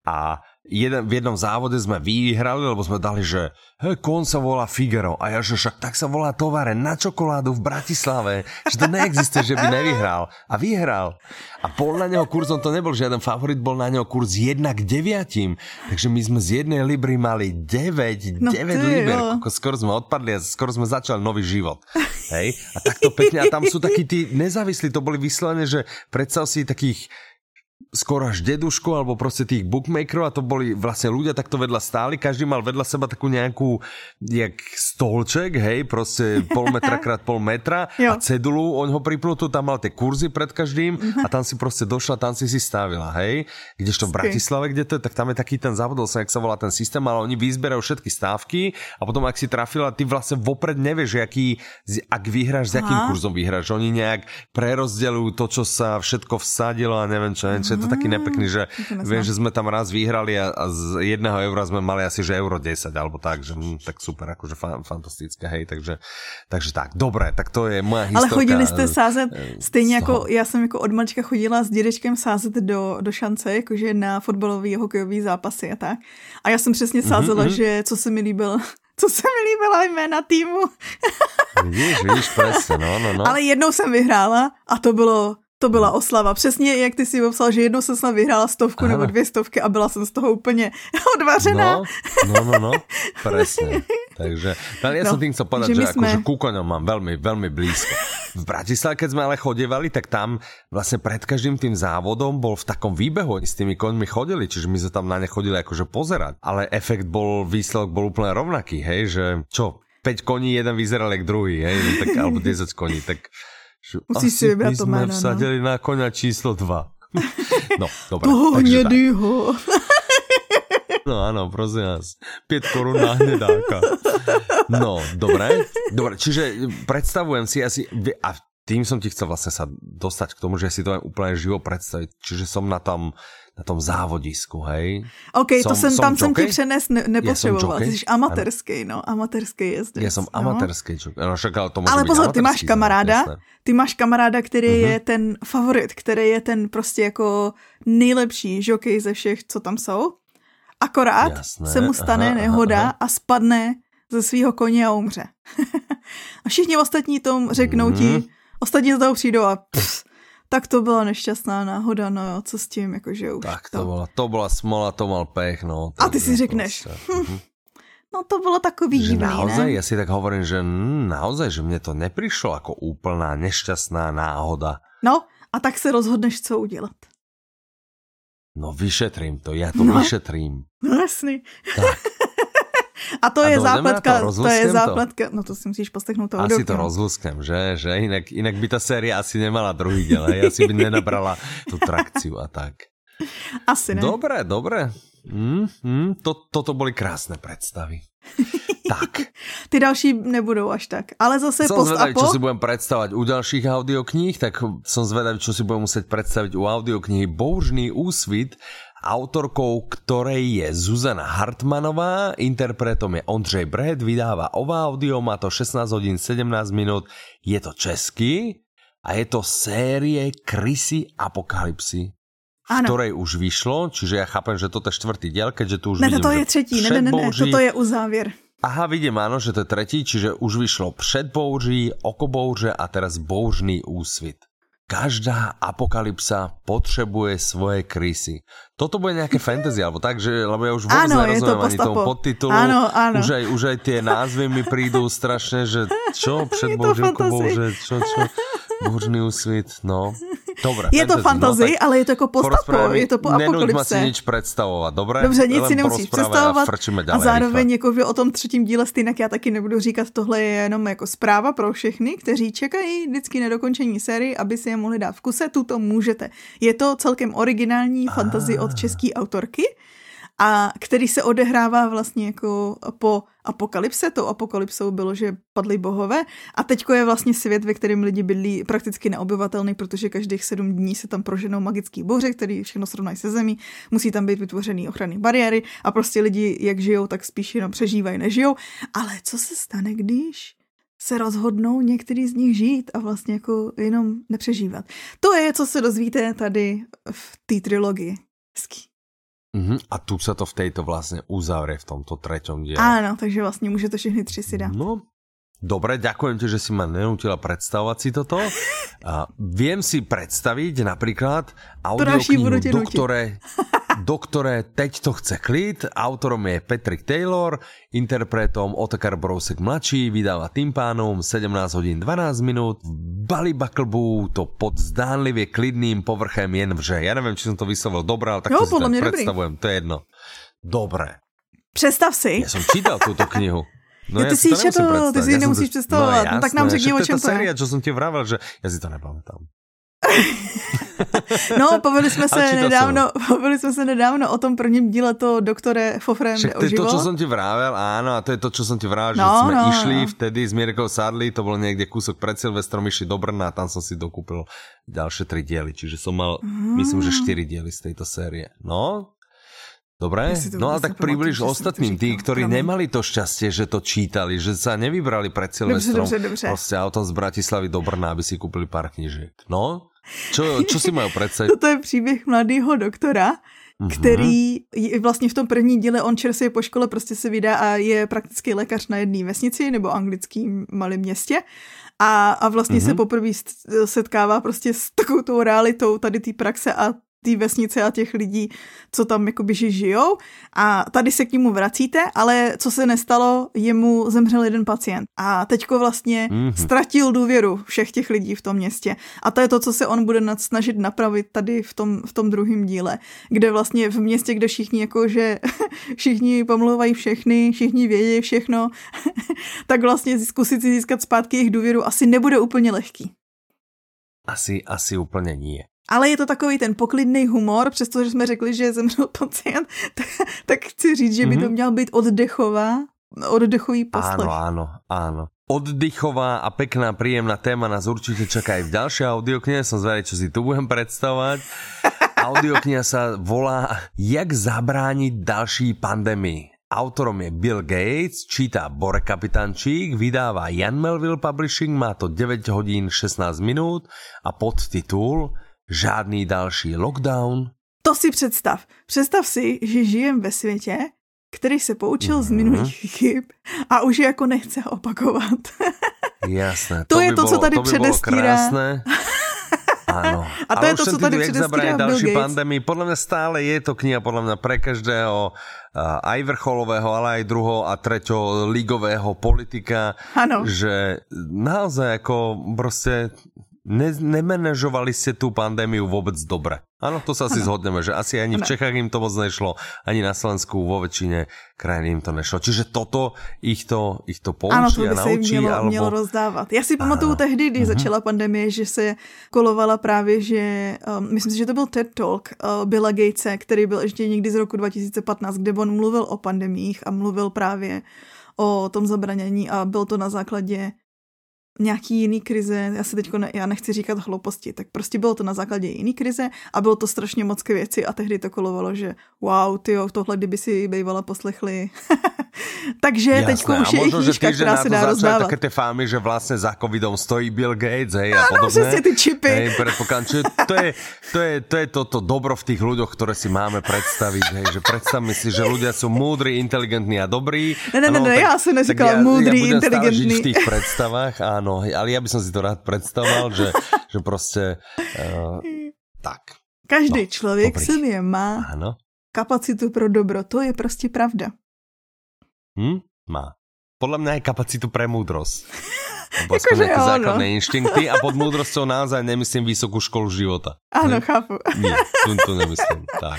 a v jednom závode sme vyhrali, lebo sme dali, že kon sa volá Figaro a ja, že však tak sa volá továreň na čokoládu v Bratislave, že to neexistuje, že by nevyhral a vyhral a bol na neho kurzom, to nebol žiaden favorit, bol na neho kurz 1 k 9, takže my sme z 1 libry mali 9 liber, skoro sme odpadli a skoro sme začali nový život, hej, a takto pekne, a tam sú takí tí nezávislí, to boli vyslovené, že predstav si takých skoro až dedušku, alebo proste tých bookmakerov, a to boli vlastne ľudia takto vedľa stáli, každý mal vedľa seba takú nejakú jak stolček, hej, proste pol metra krát pol metra a cedulu, on ho pripnutú, tam mal tie kurzy pred každým a tam si proste došla, tam si stavila, hej, kdežto v Bratislave, kde to je, tak tam je taký ten závodol sa, jak sa volá ten systém, ale oni vyzberajú všetky stávky a potom ak si trafila, ty vlastne vopred nevieš, ak vyhráš, s akým kurzom vyhráš, oni nejak prerozdeľujú to, čo sa všetko vsadilo a neviem čo, je to taký nepekný, že viem, že sme tam raz vyhrali a z 1 eura sme mali asi, že euro 10 alebo tak, že tak super, akože fantastické, hej, takže tak, dobré, tak to je moja historka. Ale chodili jste sázet, stejně jako, já jsem jako od malička chodila s dědečkem sázet do šance, jakože na fotbalový, hokejový zápasy a tak. A já jsem přesně sázela, že co se mi líbila jména týmu. Vidíš, presne, no. Ale jednou jsem vyhrála a to byla oslava. Přesně, jak ty si popsal, že jednou jsem snad vyhrála 100 nebo 200 a byla jsem z toho úplně odvařená. No, presne. Takže, ale ja som tým chcel povedať, že akože ku koňom mám veľmi, veľmi blízko. V Bratislave, keď sme ale chodievali, tak tam vlastne pred každým tým závodom bol v takom výbehu, s tými koňmi chodili, čiže my sme tam na ne chodili akože pozerať. Ale výsledok bol úplne rovnaký, hej, že čo, 5 koní, jeden vyzeral jak druhý, hej, tak, alebo 10 koní, tak musíš si vybrať to my sme jméno, vsadili na koňa číslo 2. No, dobré. Toho hnedýho. No áno, prosím vás. 5 korún na hnedáka. No, dobre, čiže predstavujem si asi, a tým som ti chcel vlastne sa dostať k tomu, že si to aj úplne živo predstaviť, čiže som na tom závodisku, hej. OK, tam jsem ti přenes nepotřeboval. Ty jsi amatérský, amatérský jezdec. Já jsem amatérský, ale pozor, ty máš kamaráda, který je ten favorit, který je ten prostě jako nejlepší žokej ze všech, co tam jsou. Akorát se mu stane nehoda a spadne ze svýho koně a umře. A všichni ostatní tomu řeknou ti, ostatní z toho přijdou a tak to byla nešťastná náhoda, no jo, co s tím, jakože už tak to byla smola, to mal pech, no. A ty si řekneš, no to bylo takový divný, naozaj, ne? Ja si tak hovorím, že naozaj, že mne to neprišlo ako úplná nešťastná náhoda. No, a tak se rozhodneš, co udělat. No vyšetrím to, ja to vyšetrím. No jasný. Tak. A to je zápletka, no to si musíš poslechnout toho asi to rozlusknem, že inak by tá séria asi nemala druhý diel, asi by nenabrala tú trakciu a tak. Asi ne. Dobre. Toto boli krásne predstavy. Tak. Ty další nebudou až tak, ale zase som zvedavý, čo si budem predstavať u ďalších audiokníh, tak som zvedavý, čo si budem musieť predstaviť u audioknihy Bouřný úsvit, autorkou ktorej je Zuzana Hartmanová, interpretom je Ondřej Bret, vydáva OVA audio, má to 16 hodín 17 minút, je to český a je to série Krysy apokalypsy. ktorej už vyšlo, čiže ja chápem, že toto je 4. diel, keďže tu už ne, vidím, to je 3. Ne, toto je uzávěr. Aha, vidím, áno, že to je 3., čiže už vyšlo Před bouří, Oko bouře a teraz Bouřný úsvit. Každá apokalypsa potrebuje svoje krysy. Toto bude nejaké fantasy, alebo tak, že, lebo ja už vôbec nerozumiem ani tomu podtitulu. Áno. Už aj tie názvy mi prídu strašne, že čo? Před bouří, Oko bouře, čo? Bouřný úsvit, no. Dobre, je to fantasy, no, ale je to jako post-apo, je to po apokalypse. Nenuď ma si nič predstavovat, dobré? Dobře, nic si nemusíš představovat a zároveň jako o tom 3. díle stejnak já taky nebudu říkat, tohle je jenom jako zpráva pro všechny, kteří čekají vždycky nedokončení série, aby si je mohli dát v kuse, tuto můžete. Je to celkem originální fantasy od české autorky, a který se odehrává vlastně jako po apokalypse. Tou apokalypsou bylo, že padli bohové a teďko je vlastně svět, ve kterém lidi bydlí prakticky neobyvatelný, protože každých 7 dní se tam proženou magický bouře, který všechno srovnají se zemí, musí tam být vytvořený ochranný bariéry a prostě lidi jak žijou, tak spíš jenom přežívají, nežijou. Ale co se stane, když se rozhodnou některý z nich žít a vlastně jako jenom nepřežívat? To je, co se dozvíte tady v té trilogii. Hezký. A tu sa to v tejto vlastne uzavrie v tomto 3. diele. Áno, takže vlastne môžete všechny 3 si dať. No, dobre, ďakujem ti, že si ma nenútila predstavovať si toto. Viem si predstaviť napríklad audioknihu Doktore, teď to chce klid. Autorom je Patrick Taylor, interpretom Otakar Brousek mladší, vydáva Tympánum, 17 hodín 12 minút. Bali Buckleboo to pod zdánlivě klidným povrchem jen vře. Ja neviem, či som to vyslovil dobré, ale tak to si tak predstavujem, to je jedno. Dobre. Představ si. Ja som čítal túto knihu. No ty si četl, ty si nemusíš představovat. No, tak nám řekni, o čem to je. Séria, čo som ti vravel, že ja si to nepamätám. No, bavili jsme se nedávno o tom prvním díle to Doktore Fofrem jde o život. To je to, čo som ti vravel, áno, a to je to, čo som ti vravel, že sme išli vtedy s Mirkou Sadli, to bolo niekde kúsok pred Silvestrom, išli do Brna a tam som si dokúpil ďalšie 3 diely, čiže som mal, myslím, že 4 diely z tejto série. No, dobre, no ale tak približ ostatným, tí, ktorí nemali to šťastie, že to čítali, že sa nevybrali pred Silvestrom proste autom z Bratislavy do Brna, aby si kúpili pár knížek. No, čo si majú predstaviť? Toto je příběh mladého doktora, který vlastně v tom první díle, on čerstvě po škole prostě se vydá a je praktický lékař na jedné vesnici nebo anglickým malém městě a vlastně se poprvé setkává prostě s takovou tou realitou tady té praxe a té vesnice a těch lidí, co tam jakoby žijou a tady se k němu vracíte, ale co se nestalo, jemu zemřel jeden pacient a teďko vlastně ztratil důvěru všech těch lidí v tom městě a to je to, co se on bude snažit napravit tady v tom druhém díle, kde vlastně v městě, kde všichni jakože všichni pomlouvají všechny, všichni vědí všechno, tak vlastně zkusit si získat zpátky jejich důvěru asi nebude úplně lehký. Asi úplně nie. Ale je to takový ten poklidný humor, přestože jsme řekli, že zemřel pacient, tak chci říct, že by to měl být oddechový poslech. Áno. Oddychová a pekná, príjemná téma nás určite čaká aj v ďalšej audioknihe. Som zvedavý, čo si tu budem predstavovať. Audiokniha sa volá Jak zabrániť ďalší pandémii. Autorom je Bill Gates, číta Borek Kapitančík, vydáva Jan Melville Publishing, má to 9 hodín 16 minút a podtitul Žádný další lockdown. To si představ. Představ si, že žijem ve světě, který se poučil z minulých chyb a už je jako nechce opakovat. Jasné. To je to, co tady předestírá. Áno. A to je to, co tady předestírá Bill Gates. Pandémii. Podľa mňa stále je to kniha, podľa mňa pre každého aj vrcholového, ale aj druhého a treťo ligového politika. Ano. Že naozaj ako proste nemenežovali ste tú pandémiu vôbec dobre. Áno, to sa asi zhodneme, že asi ani v Čechách im to moc nešlo, ani na Slovensku, vo väčšine krajín im to nešlo. Čiže toto ich to poučí a naučí. Ano, to by se mělo rozdávat. Já si pamatuju tehdy, když začala pandemie, že se kolovala právě, že myslím si, že to byl TED Talk Billa Gatese, který byl ještě někdy z roku 2015, kde on mluvil o pandemiích a mluvil právě o tom zabranění a byl to na základě nějaký jiný krize, já nechci říkat hlouposti, tak prostě bylo to na základě jiný krize a bylo to strašně moc k věci a tehdy to kolovalo, že wow, tyjo, tohle kdyby si bývala poslechli. Takže teďko už je i knížka, která se dá rozdávat. Také tie fámy, že vlastne za covidom stojí Bill Gates, hej, a podobné. Přesně ty čipy. Hej, to je to dobro v tých ľuďoch, ktoré si máme predstaviť, hej, že predstavme si, že ľudia sú múdri, inteligentní a dobrí. Ne, já jsem neříkala múdrý, inteligentní. Žiť v tých predstavách, áno, ale ja by som si to rád predstavoval, že proste tak. Každý člověk v sobě má áno. kapacitu pro dobro, to je prostě pravda. Má. Podľa mňa aj kapacitu pre múdrosť. Lebo aspoň nejaké základné inštinkty a pod múdrosťou naozaj nemyslím vysokú školu života. Áno, chápu. Nie, tu nemyslím. Tak.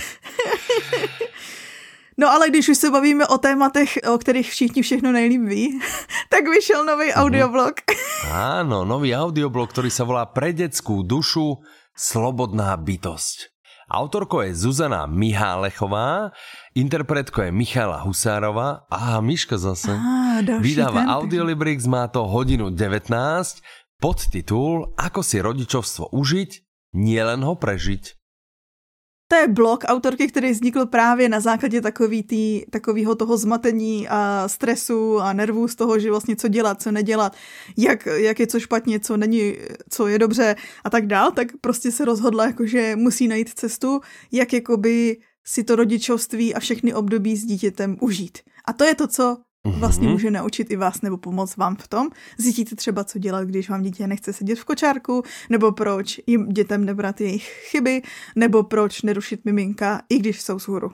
No ale když už se bavíme o tématech, o kterých všichni všechno nejlíp ví, tak vyšel nový audioblog. Áno, nový audioblog, ktorý sa volá Pre detskú dušu slobodná bytosť. Autorkou je Zuzana Mihálechová, interpretkou je Michala Husárová a Miška zase. Vydáva Audiolibrix, má to 1:19, podtitul Ako si rodičovstvo užiť, nielen ho prežiť. To je blog autorky, který vznikl právě na základě takového toho zmatení a stresu a nervů z toho, že vlastně co dělat, co nedělat, jak je co špatně, co není, co je dobře a tak dál, tak prostě se rozhodla, jakože musí najít cestu, jak jakoby si to rodičovství a všechny období s dítětem užít. A to je to, co vlastně může naučit i vás nebo pomoct vám v tom. Zjistíte třeba, co dělat, když vám dítě nechce sedět v kočárku, nebo proč jim dětem nebrat jejich chyby, nebo proč nerušit miminka, i když jsou vzhůru.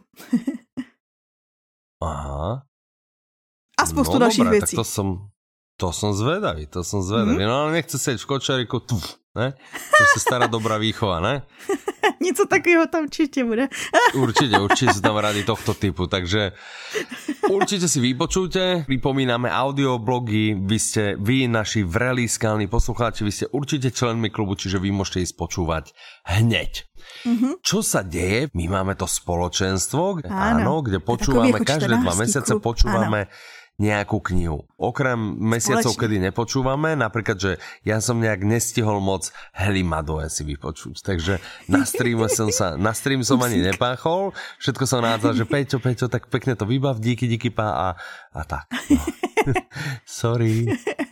Aha. A spoustu dalších dobré, věcí. Tak to som zvedavý. No ale nechce sedět v kočáriku, ne? To je stará dobrá výchova, ne? Něco takového tam určitě bude. Určite sú tam rady tohto typu, takže určite si vypočujte. Pripomíname audioblogy, vy naši vrelí skalní poslucháči, vy ste určite členmi klubu, čiže vy môžete ísť počúvať hneď. Čo sa deje? My máme to spoločenstvo, áno, kde počúvame každé 2 mesiace, počúvame nejakú knihu. Okrem mesiacov, kedy nepočúvame, napríklad, že ja som nejak nestihol moc Helimadoe si vypočuť, takže na stream som ani nepáchol, všetko som nádzal, že Peťo, tak pekne to vybav, díky pá a tak. No. Sorry.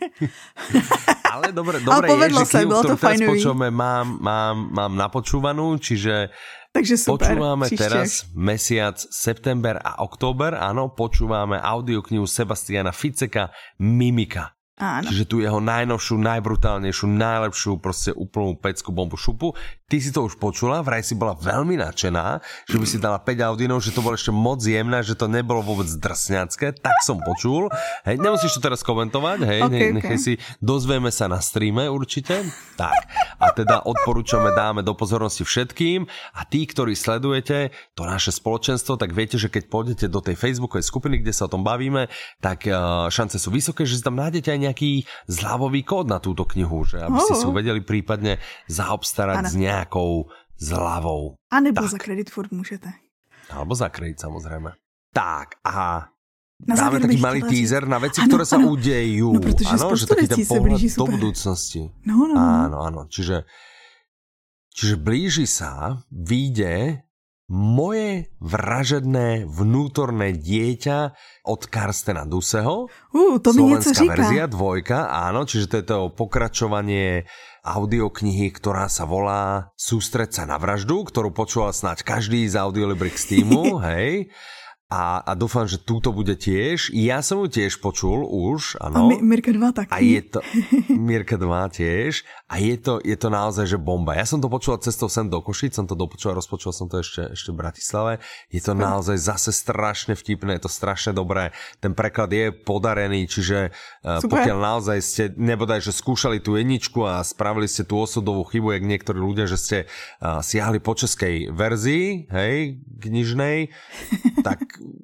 Ale dobre, je, že knihu, ktorú teraz počúvame, mám napočúvanú, čiže takže super, počúvame teraz mesiac september a október, áno, počúvame audioknihu Sebastiana Ficeka Mimika. Áno. Čiže tu jeho najnovšiu, najbrutálnejšiu, najlepšiu, proste úplnú pecku, bombu, šupu. Ty si to už počula, vraj si bola veľmi nadšená, že by si dala 5 audínov, že to bolo ešte moc jemné, že to nebolo vôbec drsňacké, tak som počul. Hej, nemusíš to teraz komentovať, hej, nechaj si, dozvieme sa na streame určite. Tak, a teda odporúčame, dáme do pozornosti všetkým a tí, ktorí sledujete to naše spoločenstvo, tak viete, že keď pôjdete do tej facebookovej skupiny, kde sa o tom bavíme, tak šance sú vysoké, že si tam nájdete aj nejaký zľavový kód na túto knihu, že aby ste si vedeli prípadne zaobstarať s nejakou zľavou. A nebo za kredit furt môžete. Alebo za kredit, samozrejme. Tak, aha. Dáme taký malý teaser na veci, ktoré sa udejú. No, protože že taký ten pohľad do budúcnosti. No. Áno. Čiže blíži sa, vyjde Moje vražedné vnútorné dieťa od Karstena Duseho. To mi něco říká. Slovenská verzia, 2, áno, čiže to je to pokračovanie audioknihy, ktorá sa volá Sústreť sa na vraždu, ktorú počúval snáď každý z Audiolibrix týmu, hej. A dúfam, že túto bude tiež. Ja som ju tiež počul už, áno. A Mirka 2 taky. A je to Mirka 2 tiež. A je to naozaj, že bomba. Ja som to počul cestou sem do Košic, som to dopočul, rozpočul som to ešte v Bratislave. Je to naozaj zase strašne vtipné, je to strašne dobré. Ten preklad je podarený, čiže pokiaľ naozaj ste nebodaj, že skúšali tú jedničku a spravili ste tú osudovú chybu, jak niektorí ľudia, že ste siahli po českej verzii, hej, knižnej, tak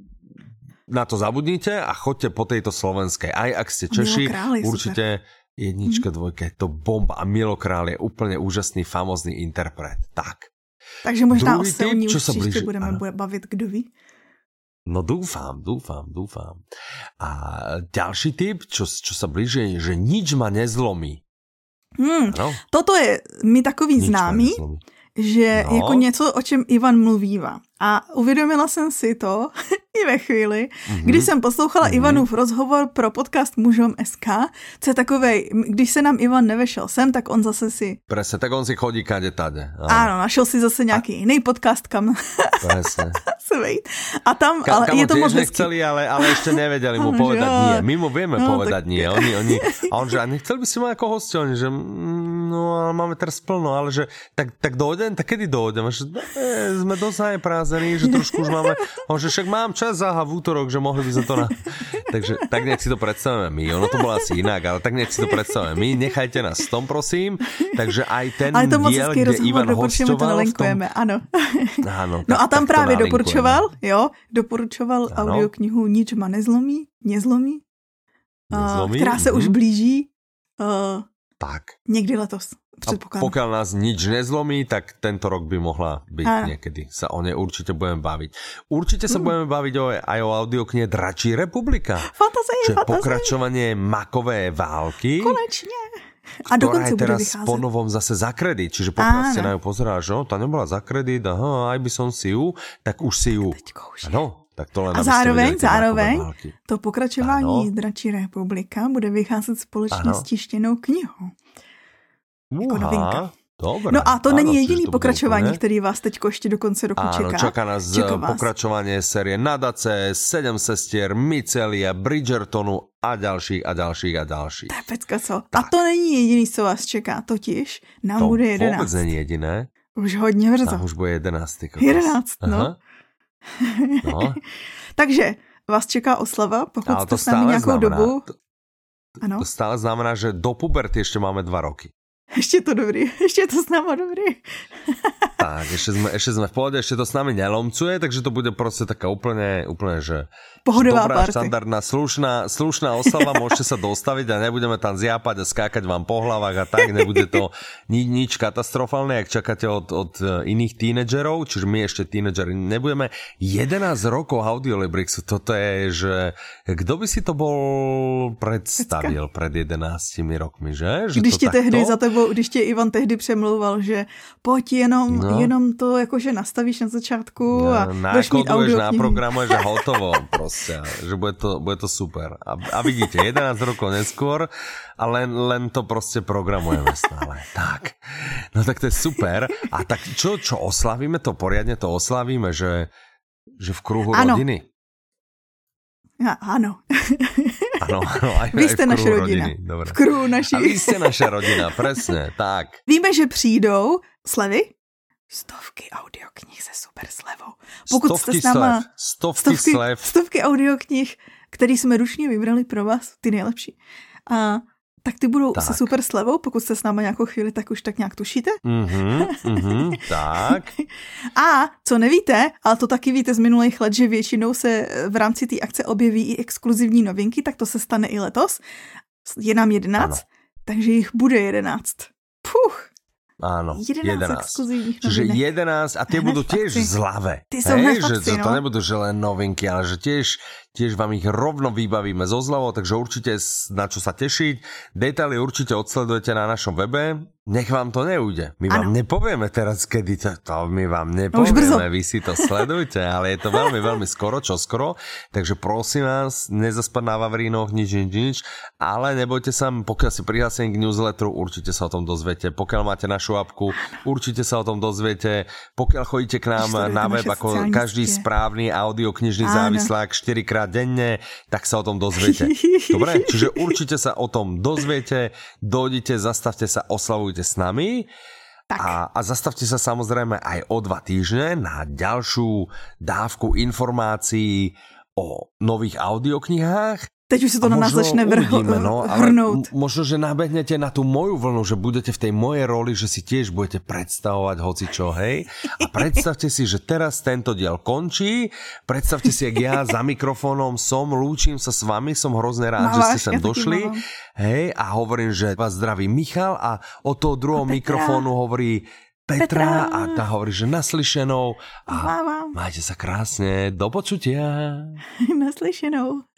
na to zabudnite a choďte po tejto slovenskej. Aj ak ste Češi, určite jednička, 2, je to bomba. A Milo Král je úplne úžasný, famózny interpret. Tak. Takže možná o Selní už příště budeme bavit, kdo ví? No dúfam. A ďalší tip, čo sa blíži, že nič ma nezlomí. Toto je mi takový známý, že jako něco, o čem Ivan mluvívá. A uvědomila jsem si to i ve chvíli, když jsem poslouchala Ivanův rozhovor pro podcast Mužom SK, co je takovej, když se nám Ivan nevešel sem, tak on zase si... Presne, tak on si chodí kade-tade. Áno, našel si zase nějaký jiný podcast, kam se vejít. A tam, ale je to moc hezký. Nechceli, ale ešte nevedeli mu povedať nie. My mu vieme povedať nie. Oni, a on že, a nechceli by si ma ako hostia? Oni, že no, ale máme teraz plno, ale že tak dojdem, tak kedy dojdem? Že, sme dosť najprázení, že trošku už máme, on že však mám čas v útorok, že mohli by sme to Takže tak nech si to predstavíme my. Ono to bolo asi inak, ale tak nech si to predstavíme my. Nechajte nás v tom, prosím. Takže aj ten diel, kde Ivan hostoval v tom... Áno. No a tam právě doporučoval audioknihu Nič ma nezlomí, která se už blíží někdy letos. A pokiaľ nás nič nezlomí, tak tento rok by mohla byť niekedy. Sa o nej určite budeme baviť. Určite sa budeme baviť aj o audioknihe Dračí republika. Fantazie. Pokračovanie Makové války. Konečne. A ktorá je teraz po novom zase za kredit. Čiže pokiaľ ste na ju pozerali, že tá nebola za kredit, aj by som si ju, tak už si ju. Áno. Tak to len a zároveň to pokračování Dračí republika bude vycházet společně s tištěnou knihou. Jako novinka. Dobre. No a to není jediný pokračování, který vás teď ještě do konce roku čeká. Áno, čaká nás pokračovanie série Nadace, 7 sestier, Micelia, Bridgertonu a ďalších. To je pecka, co? Tak. A to není jediný, co vás čeká, totiž nám to bude 11. To vůbec není jediné. Už hodně brzo. Tam už bude 11. 11, no. Takže vás čeká oslava, pokud jste s námi nějakou dobu. Ano. To stále znamená, že do puberty ještě máme 2 roky. Ešte to dobrý, ešte to s náma dobrý. Tak, ešte sme v pohode, ešte to s nami nelomcuje, takže to bude proste taká úplne že pohodová dobrá, party. Štandardná, slušná oslava, môžete sa dostaviť a nebudeme tam zjápať a skákať vám po hlavách a tak, nebude to nič katastrofálne, ak čakáte od iných tínedžerov, čiže my ešte tínedžeri nebudeme. 11 rokov Audiolibrixu, toto je, že kto by si to bol predstavil pred 11 rokmi, že? Když ti tehdy za tebou, když tě Ivan tehdy přemlouval, že pojď jenom to jakože nastavíš na začátku a budeš mít audioknihu. Naprogramuješ a hotovo proste, že bude to super. A vidíte, 11 rokov neskôr a len to proste programujeme stále. Tak, no tak to je super. A tak čo oslavíme to, poriadne to oslavíme, že v kruhu rodiny? Áno. Áno, aj vy ste naša rodina. Dobre. V kruhu naší. A vy ste naša rodina, presne, tak. Víme, že přijdou slevy, 100 audioknih se super slevou. Pokud jste s náma... Stovky audioknih, který jsme ručně vybrali pro vás, ty nejlepší. A tak ty budou se super slevou, pokud jste s náma nějakou chvíli, tak už tak nějak tušíte. Tak. A co nevíte, ale to taky víte z minulých let, že většinou se v rámci té akce objeví i exkluzivní novinky, tak to se stane i letos. Je nám 11, takže jich bude 11. Puch. Áno, 11 exkluzívnych Čiže 11 a tie budú tiež zľave. Že to nebudú že len novinky, ale že tiež vám ich rovno vybavíme zo zľavou, takže určite na čo sa tešiť. Detaily určite odsledujete na našom webe. Nech vám to neujde. My vám nepovieme teraz, kedy to my vám nepovieme. Vy si to sledujte, ale je to veľmi, veľmi čoskoro. Takže prosím vás, nezaspať na Vavrínoch, nič. Ale nebojte sa, pokiaľ si prihlásení k newsletteru, určite sa o tom dozviete. Pokiaľ máte našu apku, určite sa o tom dozviete. Pokiaľ chodíte k nám na web ako každý správny audioknižný závislák 4-krát denne, tak sa o tom dozviete. Dobre? Čiže určite sa o tom dozviete, dojdite, zastavte sa, oslavujte s nami a zastavte sa samozrejme aj o 2 týždne na ďalšiu dávku informácií o nových audioknihách. Teď už sa to na nás začne hrnúť. Možno, že nabehnete na tú moju vlnu, že budete v tej mojej roli, že si tiež budete predstavovať hocičo, hej? A predstavte si, že teraz tento diel končí, predstavte si, jak ja za mikrofónom lúčim sa s vami, som hrozne rád, že ste sem došli, hej? A hovorím, že vás zdraví Michal a od toho druhého mikrofónu hovorí Petra a tá hovorí, že naslyšenou a Mávam. majte sa krásne, do počutia. Naslyšenou.